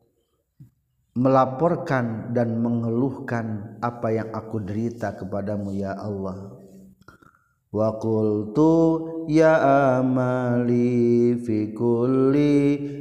melaporkan dan mengeluhkan apa yang aku derita kepadamu ya Allah wa qultu ya amali fi kulli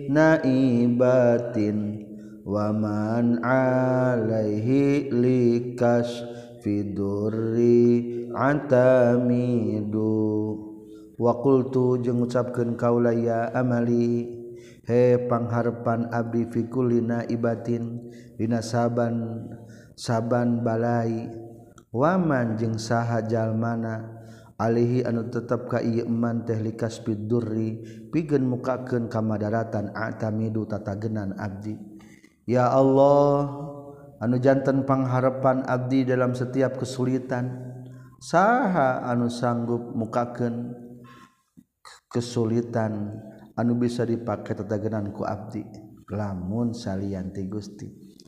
naibatin wa man alaihi likas fi durri atamidu wa qultu jeung ngucapkeun kaula ya amali he pangharepan abdi fi kulli naibatin dina saban saban balai waman jeung saha jalmana alihi anu tetep ka ieu eman teh likas bidurri pikeun mukakeun kamadaratan atamidu tatagenan abdi ya Allah anu janten pangharepan abdi dalam setiap kesulitan saha anu sanggup mukakeun kesulitan anu bisa dipake tatagenan ku abdi lamun salian ti Gusti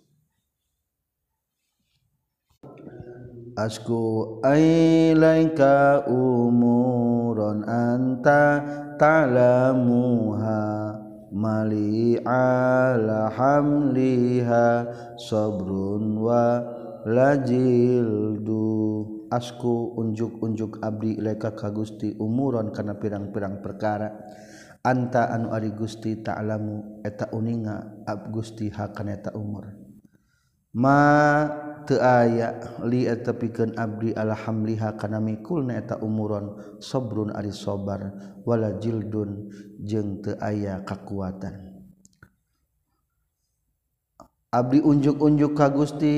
asku ailaika umuron anta ta'lamuha mali ala hamliha sabrun wa lajildu asku unjuk-unjuk abdi ilaika ka Gusti umuron kana pirang-pirang perkara anta anu ari Gusti ta'lamu eta uninga ab Gusti hakana eta umur ma teu aya li eta pikeun abdi alhamliha kana mikulna eta umuron sabrun ari sabar wala jildun jeung teu aya kakuatan abdi unjuk-unjuk ka Gusti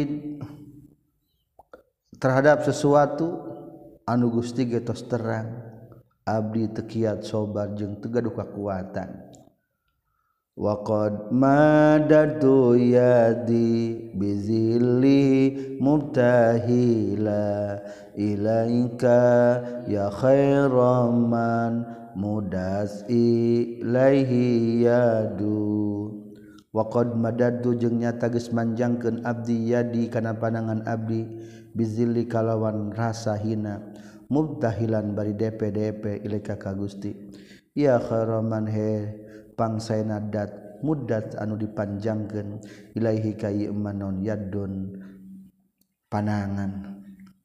terhadap sesuatu anu Gusti ge tos terang abdi teu kiat sabar jeung teu gaduh kakuatan wa qad madadu yadi bizilli mubtahila ilaika ya khairam man mudas ilaihi yadu wa qad madadu jeung nyata geus manjangkeun abdi yadi kana panangan abdi bizilli kalawan rasa hina mubtahilan bari D P D P ilaika ka Gusti ya kharaman he pangsaena dat muddat anu dipanjangkeun ilaihi ka ieu man naon yadun panangan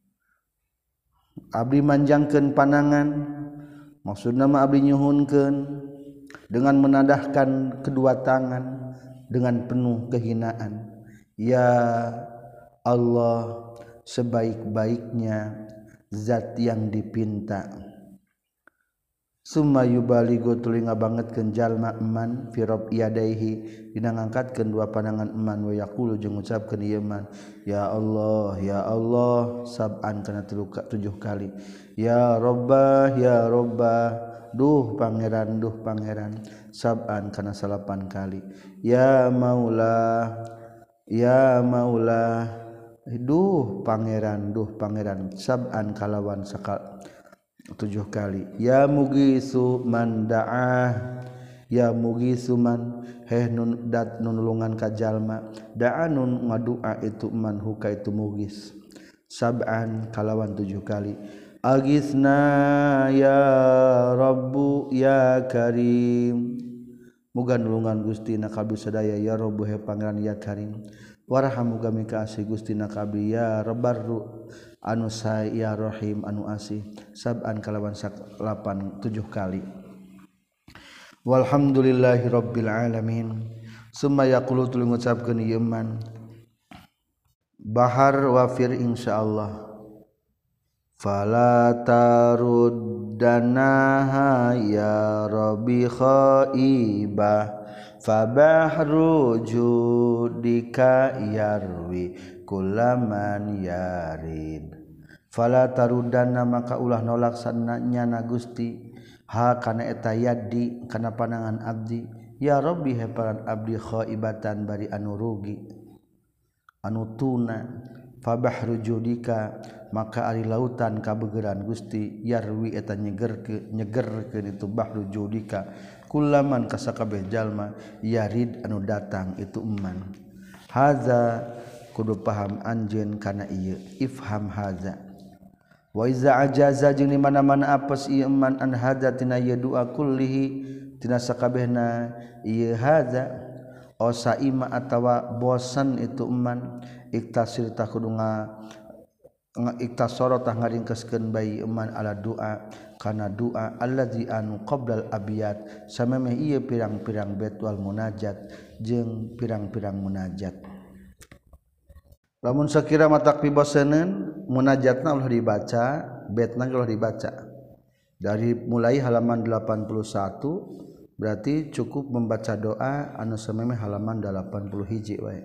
abdi manjangkeun panangan maksudna mah abdi nyuhunkeun dengan menadahkan kedua tangan dengan penuh kehinaan ya Allah sebaik-baiknya zat yang dipinta summa yubaligu tuluy ngabangetkeun jalma eman fi rabb yadaihi dina ngangkatkeun dua pandangan eman wa yaqulu jeung ngucapkeun ieu man ya Allah ya Allah sab'an kana tujuh kali ya rabbah ya rabbah duh pangeran duh pangeran sab'an kana salapan kali ya maula ya maula duh pangeran duh pangeran sab'an kalawan sakal tujuh kali ya mugisu man da'ah ya mugisu man heh nun dat nunulungan ka jalma da'anun ngadua itu man huka itu mugis sab'an kalawan tujuh kali agisna ya rabbu ya karim muga nulungan Gusti na kabeh sadaya ya rabbu he pangeran ya karim warham muga mika asih Gusti na kabeh ya rabbarru anu sae ya rahim anu asih sab'an kalawan salapan tujuh kali walhamdulillahi rabbil alamin summa yaqulu tuluy ngucapkeun ieu man bahar wafir insyaallah fala taruddanaha ya rabbi khaibah fabahru judika yarwi kullaman yarid fala taruddana maka ulah nolak sananya Gusti ha kana eta yadi kana panangan abdi ya rabbi heparan abdi khaibatan bari anu rugi anu tuna fabahru judika maka ari lautan kabegeran Gusti yarwi eta nyegerkeun nyegerkeun itu bahru judika kullaman kasakabeh jalma yarid anu datang itu eman haza kudu paham anjeun kana ieu ifham haza wa iza ajaza jeung di mana-mana apes ieu eman an haza tina ieu doa kullihi tina sakabehna ieu haza osaima atawa bosan itu eman iktasir tah kudu nga iktasara tah ngaringkeskeun bayi eman ala doa kana doa allazi anu qablal abiyat samemeh ieu pirang-pirang bait wal munajat jeung pirang-pirang munajat lamun sakira matak piboseuneun munajatna ulah dibaca baitna ulah dibaca dari mulai halaman delapan puluh satu berarti cukup membaca doa anu samemeh halaman delapan puluh hiji wae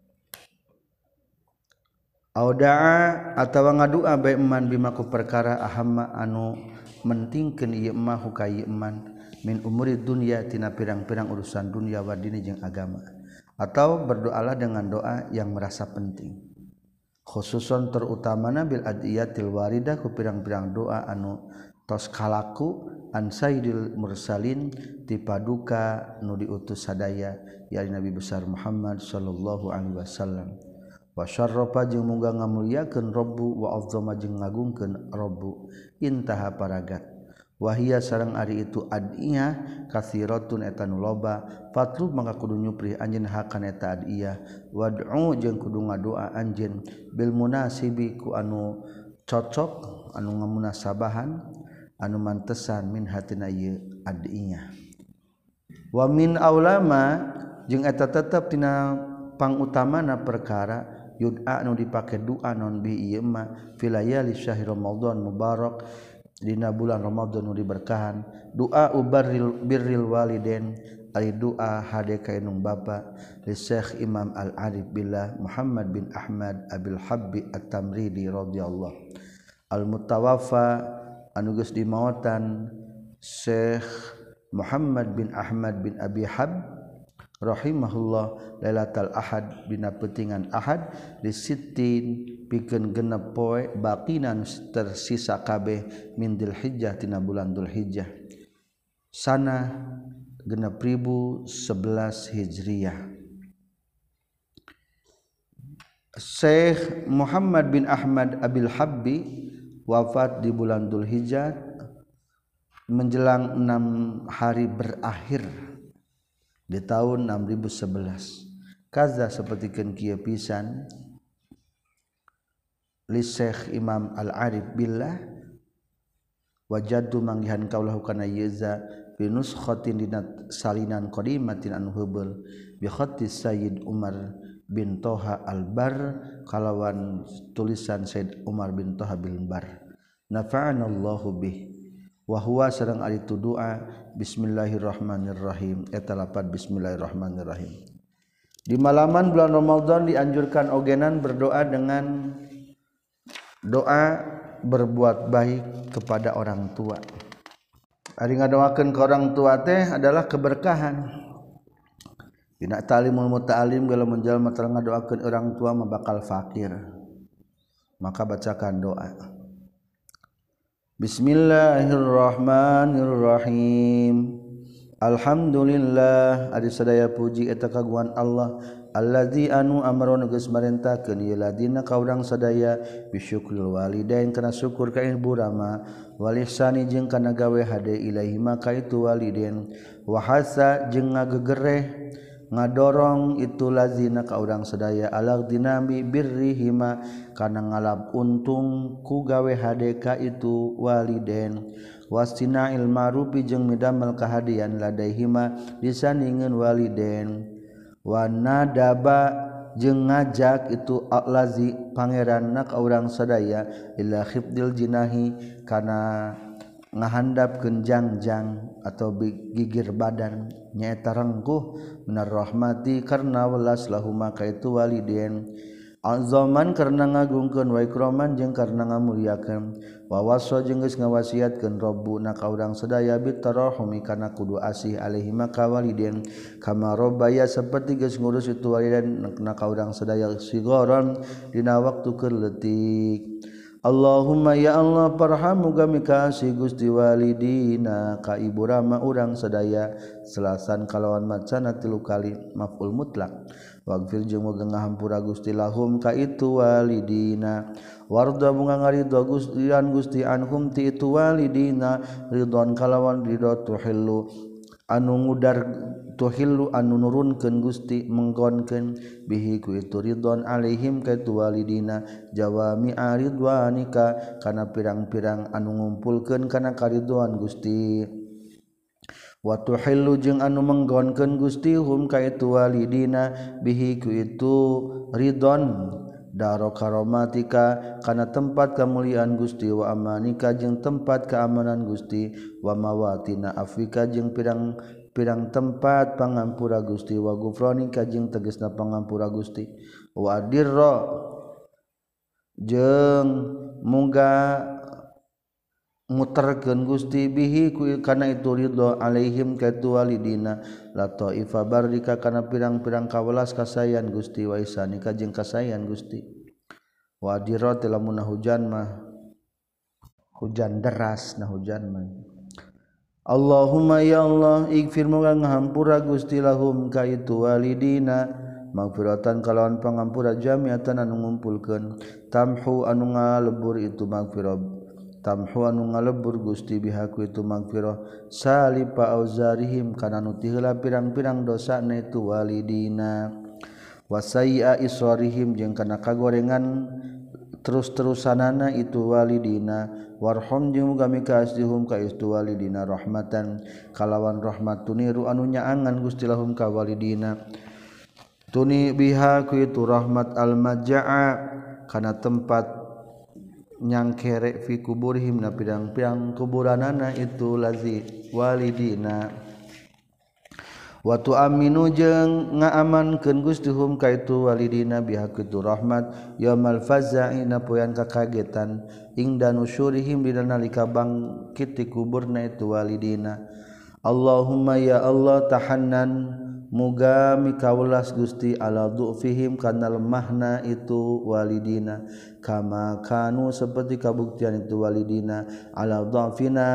audaa atawa ngadua bae eman bimaku perkara ahamma anu mentingkeun ieu mah ka ieu eman min umuri dunya tina pirang-pirang urusan dunia wa dini jeung agama atau berdoalah dengan doa yang merasa penting khususon terutamana bil adiyatil waridah ku pirang-pirang doa anu tos kalaku an sayyidil mursalin ti paduka nu diutus sadaya ya Nabi besar Muhammad sallallahu alaihi wasallam wa syarrafa jeung muga ngamulyakeun rabbu wa azzama jeung ngagungkeun rabbu intaha paragat wahia sareng ari itu adiyah katsiratun eta nu loba fatlu mangka kudu nyupri anjeun hakan eta adiyah wad'u jeung kudu ngadoa anjeun bil munasibi ku anu cocok anu ngamunasabahan anu mantesan min hatina ieu adiyah wa min aulama jeung eta tetep tina pangutamana perkara yud'a anu dipake doa non bi ieu mah filayali syahr ramadan mubarak dina bulan Ramadan nu diberkahan doa ubarril birril walidain ari doa hade ka enung bapa li Syekh Imam Al-Arif Billah Muhammad bin Ahmad Abil Habbi At-Tamridi radhiyallahu al-mutawaffa anu geus dimaotan Syekh Muhammad bin Ahmad bin Abi Hab rahimahullah lailatul ahad dina peutingan ahad di sittin pikeun genep poe baqinan tersisa kabeh min Dzulhijjah tina bulan Dzulhijjah sana genep ribu sebelas Hijriyah. Syekh Muhammad bin Ahmad Abil Habbi wafat di bulan Dzulhijjah menjelang enam hari berakhir di tahun enam ribu sebelas. Kaza sapertikeun kieu pisan li Syekh Imam Al-Arif Billah wajadu manggihan kaulahu kana yeza fi nuskhatin dina salinan qadimatin anu heubeul bi khatti Sayyid Umar bin Toha Al-Bar kalawan tulisan Sayyid Umar bin Toha bin Bar nafa'anallahu bih wa huwa sareng ari tu doa bismillahirrahmanirrahim eta lapad bismillahirrahmanirrahim. Di malaman bulan Ramadan dianjurkan ogenan berdoa dengan doa berbuat baik kepada orang tua. Ari ngadoakeun ka orang tua teh adalah keberkahan. Dina ta'limul muta'allim geus menjalma teu ngadoakeun orang tua mah bakal fakir. Maka bacakan doa. Bismillahirrahmanirrahim. Alhamdulillah ari sadaya puji eta kagungan Allah allazi anu amrona geus marentakeun ieu ladina ka urang sadaya bisyukril walidain kana syukur ka ibu rama wal ihsani jeung kana gawe hade ilaahi maka itu walidain wa hasa jeung ngagegereh ngadorong itu lazina ka urang sadaya alaq dinami birrihima kana ngalap untung ku gawe hade ka itu walidain wastina'il ma'rufi jeung midamel kahadian ladaihima disandingeun walidain wa nadaba jeung ngajak itu alazi pangeranna ka urang sadaya ila khifdil jinahi kana ngahandapkeun jangjang atau gigir badan nyaeta rengkuh minar rahmati karna welas lahuma ka itu walidain azaman karena ngagungkeun wa ikraman jeung karena ngamuliakeun wa wasa jeung geus ngawasiatkeun rabbuna ka urang sadaya bitarahumi kana kudu asih alaihi maka walidain kama rabbaya saperti geus ngurus itu walidain na ka urang sadaya sigoron dina waktu keur leutik. Allahumma ya Allah parhamu gami kasih Gusti walidina ka ibu rama urang sadaya selasan kalawan macana tilu kali maf'ul mutlak waghfir jeung muga ngahampura Gusti lahum ka itu walidina warda bunga ngaridho Gusti an Gusti anhum ti itu walidina ridwan kalawan ridho tuhillu anu ngudar tuhillu anu nurunkeun Gusti menggonkeun bihi ku itu ridwan alaihim ka itu walidina jawami aridwanika kana pirang-pirang anu ngumpulkeun kana karidwan Gusti wa tuhillu jeung anu menggonkeun Gusti hum ka itu walidina bihi ku itu ridwan daro karomatika kana tempat kemuliaan Gusti wa amanika jeung tempat keamanan Gusti wa mawatina afika jeung pirang pirang tempat pangampura Gusti wa gufranika jeung tegasna pangampura Gusti wa dirra jeung muga muterkeun Gusti bihi ku kana itu ridho alaihim ka itu walidina la taifa barika kana pirang-pirang kawelas kasayan Gusti wa isanika jeung kasayan Gusti wa dirra lamun hujan mah hujan deras nah hujan mah Allahumma ya Allah ighfir moga ngahampura Gusti lahum ka itu walidina magfiratan kalawan pangampura jamiatan anu ngumpulkeun tamhu anu ngalebur itu magfirah tamhu anu ngalebur Gusti bihaku itu magfirah salipa auzarihim kana nu ti heula pirang-pirang dosana itu walidina wasai'a iswarihim jeung kana kagorengan terus-terusanana itu walidina warham jeung muga mikasihum ka itu walidina rahmatan kalawan rahmat tuniru anu nyaangan Gusti lahum ka walidina tuni biha ku itu rahmat al-majaa kana tempat nyangkere fi kuburihim na pirang-pirang kuburanana itu lazi walidina wa tu'minu jeung ngaamankeun Gusti hum ka itu walidina biha kitu rahmat yaumul faza'i na poean kakagetan ingda nusyurihim dina nalika bangkit ti kuburna itu walidina Allahumma ya Allah tahannan muga mikaulas Gusti ala du'fihim kana lemahna itu walidina kama kanu seperti kabuktian itu walidina ala dhafina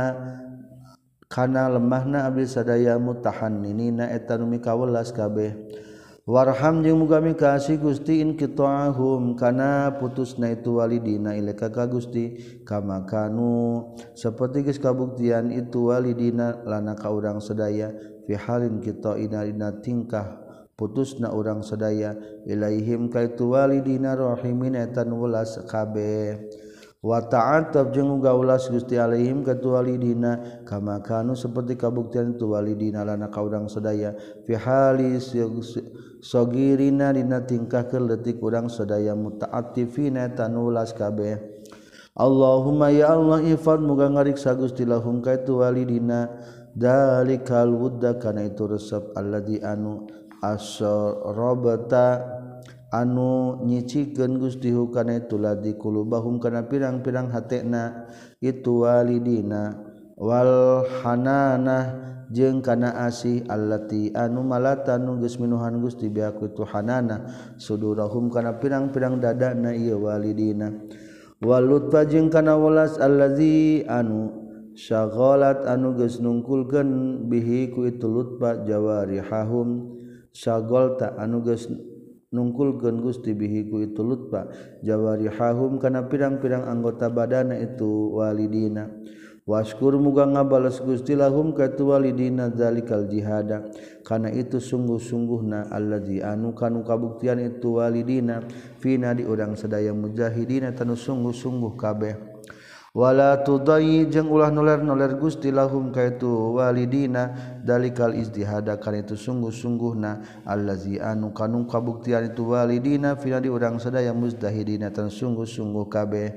kana lemahna abdi sadaya mutahanninina eta nu mikawelas kabeh Warham jeung muga mikasi Gusti in qita'ahum kana putusna itu walidina ilaika ka Gusti kama kanu saperti geus kabuktian itu walidina lana ka urang sadaya fi halin qita'ina dina tingkah putusna urang sadaya ilaihim ka itu walidina rahimin etan welas kabeh wa ta'atab jeung uga ulas Gusti alaihim ka tu walidina kama kanu saperti kabuktian tu walidina lana ka urang sadaya fi halis sogirina dina tingkah keleutik urang sadaya muta'attifina tanulas kabeh Allahumma ya Allah ifad muga ngariksa Gusti lahum ka itu walidina dalikal wudda kana itu resep alladzi anu asrabata anu nyicikeun Gusti hu kana itu ladzi qulubahum kana pirang-pirang hatena itu walidina wal hanana jeung kana asih allati anu malata nu geus minuhan Gusti biaku tu hanana sudurahum kana pirang-pirang dadana ieu walidina walutfa jeung kana welas allazi anu syaghalat anu geus nungkulkeun bihi ku itu lutfa jawarihahum syaghalta anu geus nungkulkeun Gusti bihi ku itu lutfa jawarihahum kana pirang-pirang anggota badana itu walidina Waskur muga ngabales Gusti lahum ka tu walidina zalikal jihada kana itu sungguh-sungguhna allazi anu kanu kabuktian itu walidina fina di urang sadaya mujahidina tanu sungguh-sungguh kabeh wala tudai jeung ulah noler-noler Gusti lahum ka itu walidina zalikal ijtihada kana itu sungguh-sungguhna allazi anu kanu kabuktian itu walidina fina di urang sadaya mujahidina tanu sungguh-sungguh kabeh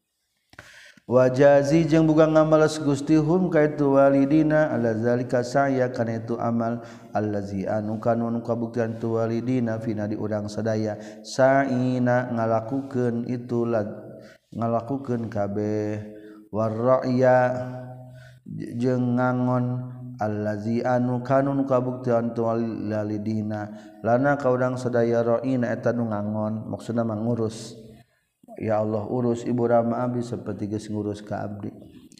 wajazi jeung buga ngamalas Gusti hum ka itu walidina ala zalika saya kana itu amal allazi anu kanu kabuktian tu walidina fina di urang sadaya saina ngalakukeun itu ngalakukeun kabeh warra'ya jeung ngangon allazi anu kanu kabuktian tu walidina lana ka urang sadaya ra'ina eta nu ngangon maksudna mangurus ya Allah urus ibu rama abdi seperti geus ngurus ka abdi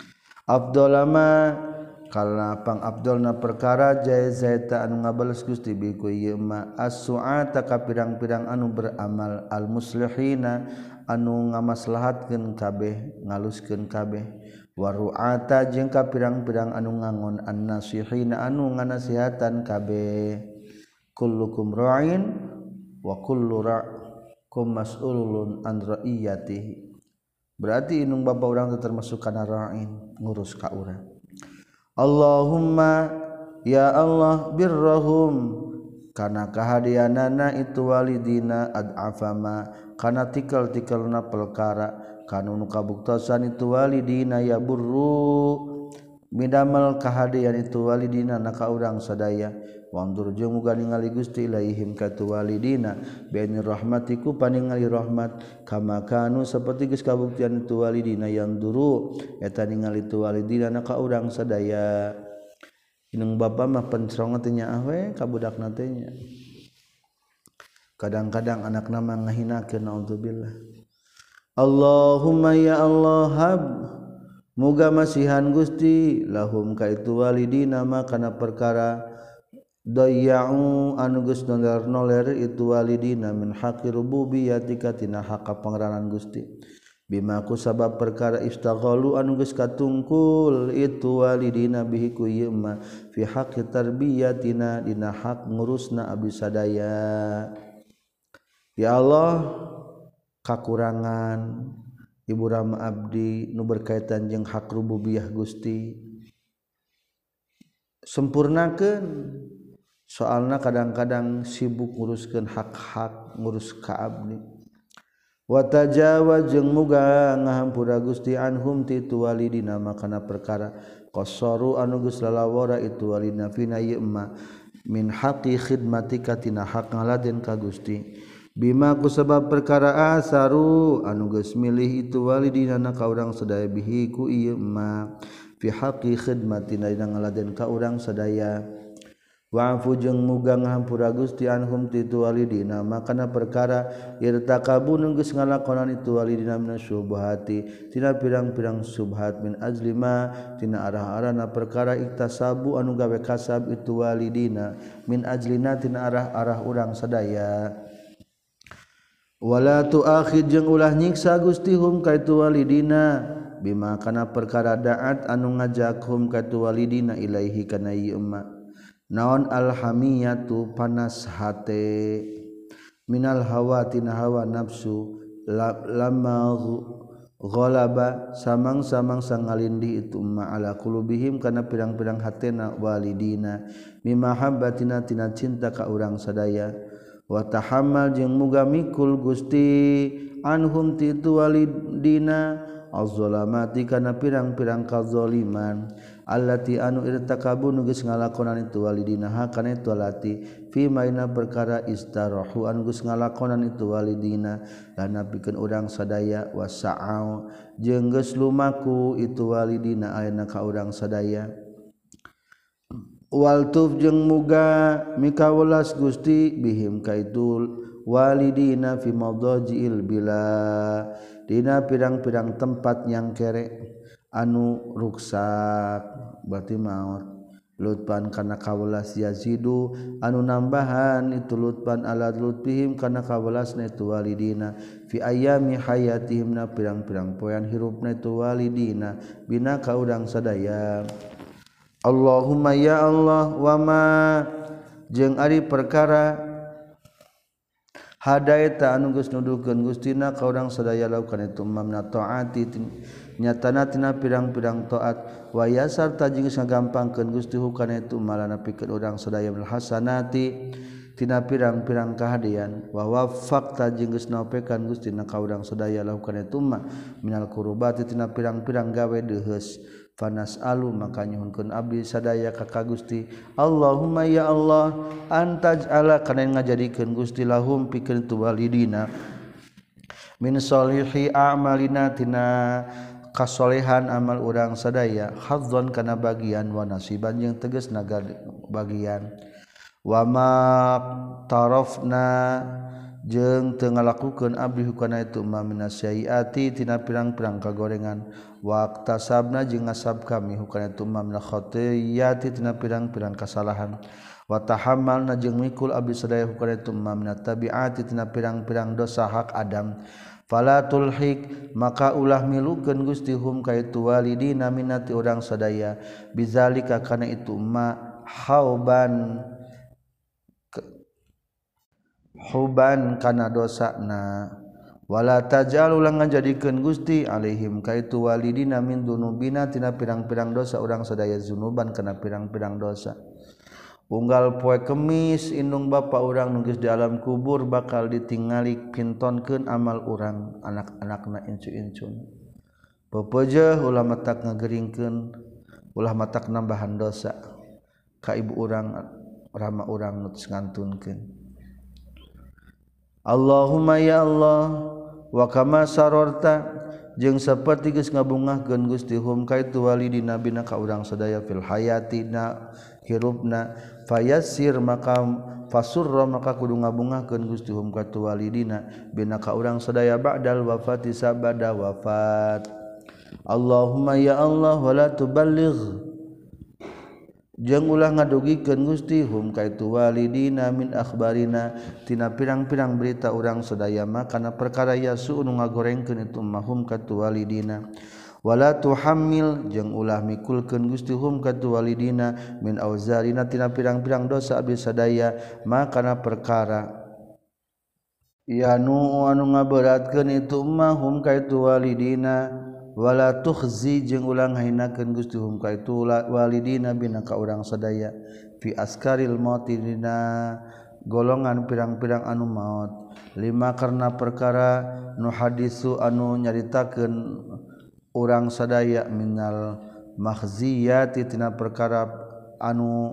afdalama kalna pang afdalna perkara jazaita anu ngabales Gusti bi ku ieu ma as-su'ata ka pirang-pirang anu beramal al muslihina anu ngamaslahatkeun kabeh ngaluskeun kabeh waru'ata jeung ka pirang-pirang anu ngangon an-nasihina anu nganasihatan kabeh kullukum ra'in wa kullu ra' kum mas'ulun an ra'iyatihi berarti inung bapa urang teh termasuk kana ra'in ngurus ka urang Allahumma ya Allah birrahum kana kahadianana itu walidina ad'afama kana tikal-tikalna perkara kanu nu kabuktosan itu walidina ya burru midamel kahadian itu walidina na ka urang sadaya wandur jeung muga ningali Gusti ilaihim ka tu walidina bi rahmatiku paningali rahmat kama kanu saperti geus kabuktian tu walidina yang duru eta ningali tu walidina na ka urang sadaya inung bapa mah pencerong teh nya we ka budakna teh nya kadang-kadang anakna mah ngahinakeun naudzubillah Allahumma ya Allah hab muga masihan Gusti lahum ka itu walidina mah kana perkara dayya'u anu geus noler-noler itu walidina min haqqi rububiyyatika tina hak pangeranan Gusti bima ku sabab perkara istaghalu anu geus katungkul itu walidina bihi ku ieu ma fi haqqi tarbiyatina dina hak ngurusna abdi sadaya ya Allah kakurangan ibu rama abdi nu berkaitan jeung hak rububiyah Gusti sempurnakeun soalna kadang-kadang sibuk nguruskeun hak-hak ngurus ka abdi wa tajawaz jeung muga ngahampura Gusti anhum ti tu walidina makana perkara qasaru anu geus lalawara itu walidina fina ieu ma min haqqi khidmatika tina hak ngaladen ka Gusti bima ku sabab perkara asaru anu geus milih itu walidina na ka urang sadaya bihi ku ieu ma fi haqqi khidmatina dina ngaladen ka urang sadaya wa'fu jeung muga ngahampura Gusti anhum ti itu walidina makana perkara irtakabu nu geus ngalakonan itu walidina minasyubhati tina pirang-pirang subhat min ajlima tina arah-arahna perkara iktasabu anu gawe kasab itu walidina min ajlina tina arah-arah urang sadaya wala tuakhid jeung ulah nyiksa Gusti hum ka itu walidina bima kana perkara daat anu ngajak hum ka itu walidina ilaihi kana ieu emma naon alhamiyatu panas hate minal hawa tina hawa nafsu lama ghalaba samang-samang sangalindi itu ma ala qulubihim kana pirang-pirang hatena walidina mimahabbatina tina cinta ka urang sadaya wa tahammal jeung muga mikul Gusti anhum ti itu walidina az-zalamati kana pirang-pirang kazaliman allati anu irtakabu nu geus ngalakonan itu walidina ha kana itu alati fi maina perkara istarahu anu geus ngalakonan itu walidina lana pikeun urang sadaya wasa'au jeung geus lumaku itu walidina ayeuna ka urang sadaya waltuf jeung muga mikawelas Gusti bihim kaitul walidina fi madajiil bila dina pirang-pirang tempat yang kere anu ruksak berarti maut lutpan kana kawelas yazidu anu nambahan itu lutpan ala lutfihim kana kawelasna itu walidina fi ayami hayatihim na pirang-pirang poean hirupna itu walidina bina ka urang sadaya Allahumma ya Allah wa ma jeung ari perkara hadaita anu geus nuduhkeun Gustina ka urang sadaya lakukan itu mamna taati nyatana tina pirang-pirang taat wa yasar tajing geus ngagampangkeun Gusti hukana itu malana pikeun urang sadaya bil hasanati tina pirang-pirang kahadian wa waffaq tajing geus naopekan Gustina ka urang sadaya lakukan itu ma minal qurbati tina pirang-pirang gawe deheus fanas alu maka nyuhunkeun abdi sadaya ka ka Gusti Allahumma ya Allah antaj ala kana ngajadikeun Gusti lahum pikeun tu walidina min sholihi a'malina tina kasolehan amal urang sadaya hadzon kana bagian wa nasiban jeung tegas naga bagian wa ma tarafna jeung teu ngalakukeun abdi hukana itu ma minasyiati tina pirang-pirang kagorengan waqtasabna jeung ngasab kami hukana itu ma min khatiyati tina pirang-pirang kasalahan wa tahammalna jeung mikul abdi sadaya hukana itu ma min tabiati tina pirang-pirang dosa hak Adam fala tulhik maka ulah milukeun Gusti hum ka itu walidina minati urang sadaya bizalika kana itu ma hauban huban kana dosana wala tajal ulang ngajadikeun Gusti alaihim ka itu walidina min dunubina tina pirang-pirang dosa urang sadaya zunuban kana pirang-pirang dosa unggal poe Kemis indung bapa urang nu geus di alam kubur bakal ditingali pintonkeun amal urang anak-anakna incu-incun pepeujeuh ulah matak ngageringkeun ulah matak nambahan dosa ka ibu urang rama urang nu ngantunkeun Allahumma ya Allah wa kama sarorta jeung saperti geus ngabungahkeun Gusti hum ka itu walidina bina ka urang sadaya fil hayatina hirupna fayassir maka fasurra maka kudu ngabungahkeun Gusti hum ka itu walidina bina ka urang sadaya ba'dal wafati sabada wafat Allahumma ya Allah wala tuballigh jeung ulah ngadugikeun Gusti hum ka itu walidina min akhbarina tina pirang-pirang berita urang sadaya mah kana perkara yasu nu ngagorengkeun itu mahum ka itu walidina wala tuhammil jeung ulah mikulkeun Gusti hum ka itu walidina min auzarina tina pirang-pirang dosa abdi sadaya mah kana perkara yanu anu ngaberatkeun itu mahum ka itu walidina wala tukhzi jeung ulang hinakeun Gusti hum ka itu walidina bina ka urang sadaya fi askaril mauti dina golongan pirang-pirang anu maut lima karena perkara nu hadisu anu nyaritakeun urang sadaya minal makhziyati tina perkara anu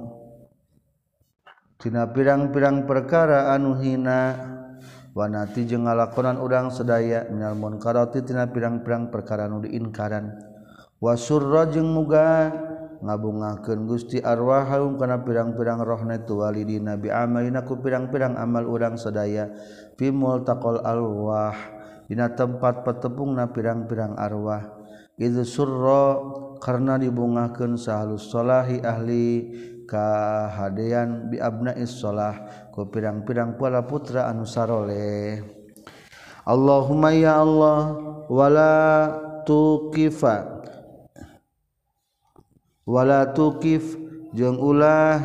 tina pirang-pirang perkara anu hina wanati jeung ngalakonan urang sadaya minal munkarati tina pirang-pirang perkara nu diinkaran wasurra jeung muga ngabungakeun Gusti arwahum kana pirang-pirang rohna tu walidina bi amalina ku pirang-pirang amal urang sadaya fi multaqal arwah dina tempat patepungna pirang-pirang arwah idzu surra karna dibungakeun sahalus salahi ahli kahadean bi abnais shalah ku pirang-pirang pala putra anu saroleh. Allahumma ya Allah wala tuqifa wala tuqif jeung ulah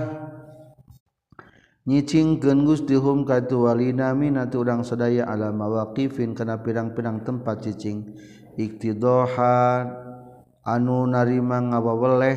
nyicingkeun Gusti hum ka tu walina minatu urang sadaya ala mawaqifin kana pirang-pirang tempat cicing iktidahan anu narima ngawaweleh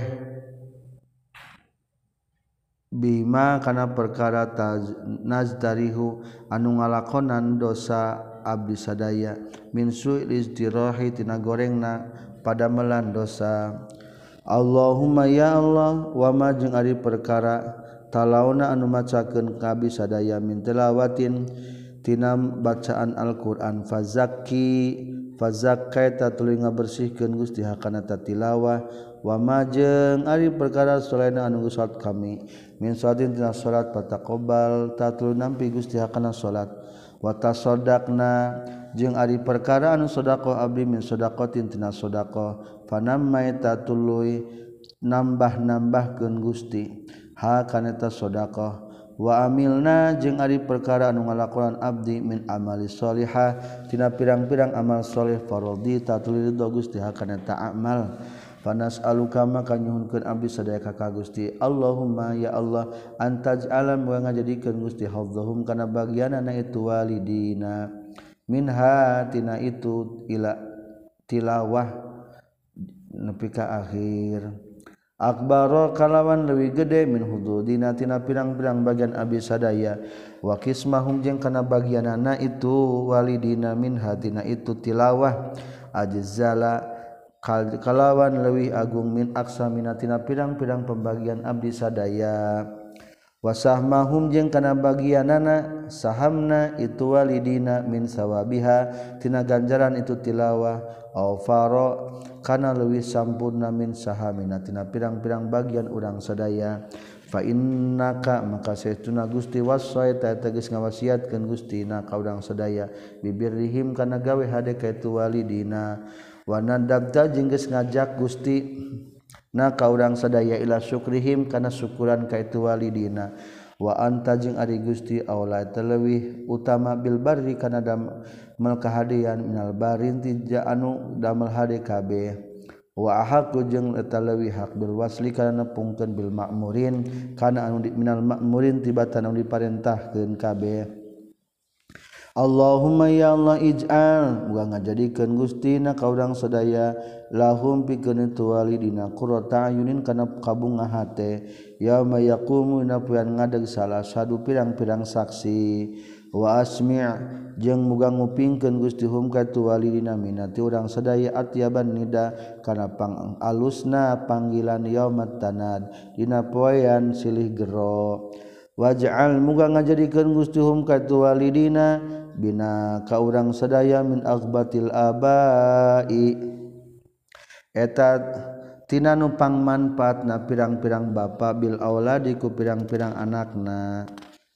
bima kana perkara nazdarihu anu ngalakonan dosa abdi sadaya min su'il istirahi tina gorengna pada melan dosa. Allahumma ya Allah wa ma jeung ari perkara talauna anu macakeun ka abdi sadaya min tilawatin tina bacaan Al-Qur'an fazakki fazakkaita tuluy ngabersihkeun Gusti hakana tilawah wa ma jeung ari perkara solaina anu salat kami min salatin tina salat pataqobbal tatul nampi Gusti hakana salat wa tasaddaqna jeung ari perkara anu sedekah abdi min sedaqatin tina sedekah fanamai tatuluy nambah-nambahkeun Gusti ha kana ta sedekah wa amilna jeung ari perkara anu ngalakonan abdi min amali sholihah tina pirang-pirang amal sholih faradhi tatuluy ridho Gusti ha kana ta amal panas'aluka maka nyuhunkeun abdi sadaya ka Gusti Allahumma ya Allah antaj'ala wa ngajadikeun Gusti hadzahum kana bagianna itu walidina minha tina itu ila tilawah nepi ka akhir akbaro kalawan leuwih gede min hududina tina pirang-pirang bagian abdi sadaya wa qismahum jeung kana bagianna itu walidina minha tina itu tilawah ajzala kalawan leuwih agung min aksamina tina pirang-pirang pembagian abdi sadaya wasahmahum jeung kana bagianana sahamna itu walidina min sawabiha tina ganjaran itu tilawah au faro kana leuwih sampurna min sahamina tina pirang-pirang bagian urang sadaya fa innaka maka saestuna Gusti wasaita tegas ngawasiatkeun Gusti na ka urang sadaya bibirrihim kana gawe hade ka itu walidina wa nadabta jeung geus ngajak Gusti na ka urang sadaya ila syukrihim kana syukuran ka itu walidina wa anta jeung ari Gusti aula teleuwih utama bil barri kana damel kahadian minal barin tija anu damel hade kabeh wa ahaqu jeung eta leuwih hak bil wasli kana nepungkeun bil ma'murin kana anu minal ma'murin tibatan anu diparentahkeun kabeh. Allahumma ya Allah ij'al wa ngajadikeun Gustina ka urang sadaya lahum pikeun itu walidina qurrata ayunin kana kabunga hate yauma yaqumu napuan ngadeg salah sadu pirang-pirang saksi wa asmi' jeung muga ngupingkeun Gusti hum ka itu walidina minati urang sadaya atyaban nida kana pang alusna panggilan yaumat tanad dina poean silih gero waj'al muga ngajadikeun Gusti hum ka itu walidina bina ka urang sadaya min aghbatil abai eta tina nu pangmanfaatna pirang-pirang bapa bil auladi ku pirang-pirang anakna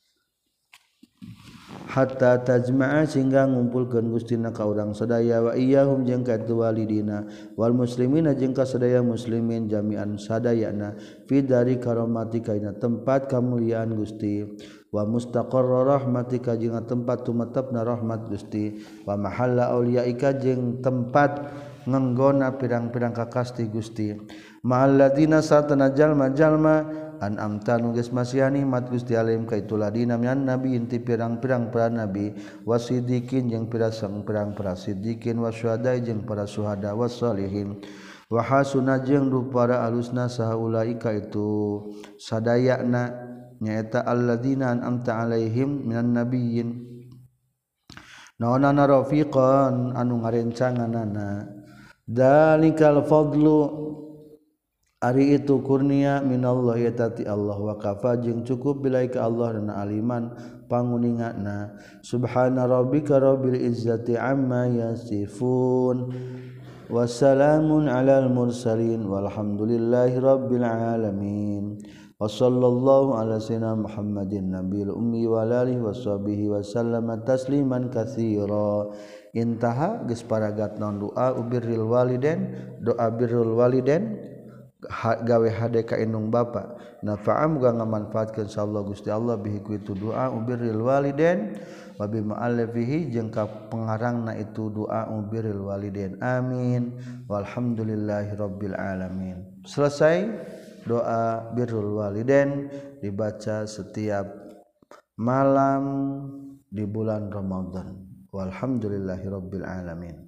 hatta tajma'a sehingga ngumpulkeun Gustina ka urang sadaya wa iyyahum jeung ka itu walidina wal muslimina jeung ka sadaya muslimin jami'an sadayana fi dari karomatika ina tempat kamuliaan Gusti wa mustaqarra rahmatika jeung tempat tumetepna rahmat Gusti wa mahalla auliyaika jeung tempat ngenggona pirang-pirang kakasti Gusti ma'alladina satana jalma-jalma an'amta nu geus masihani nikmat Gusti alaihim ka itu ladina minan nabi inti pirang-pirang para nabi wasidikin jeung pirang-pirang para sidikin wasyuhada jeung para syuhada wassalihin wa hasuna jeung rupara alusna saha ulaika itu sadayana nyaeta alladzina an'amta alaihim minan nabiyyin naonana rafiqan anu ngarencanganana dalikal fadlu ari itu kurnia minallah yatati Allah wa kafa jeung cukup bilaika Allah dan aliman panguningana subhana rabbika rabbil izzati amma yasifun wassalamun alal mursalin walhamdulillahi rabbil alamin. Wassallallahu ala sayyidina Muhammadin nabiyil ummi wa alihi washabihi wasallama tasliman katsira. Intaha geus paragat naon doa ubirril walidain, doa birrul walidain gawe hade ka indung bapa. Nafa'a muga ngamanfaatkeun insyaallah Gusti Allah bihi ku itu doa ubirril walidain wa bi ma'alifihi jeung ka pengarangna itu doa ubirril walidain. Amin. Walhamdulillahi rabbil alamin. Selesai doa birrul walidain dibaca setiap malam di bulan Ramadan. Walhamdulillahi rabbil alamin.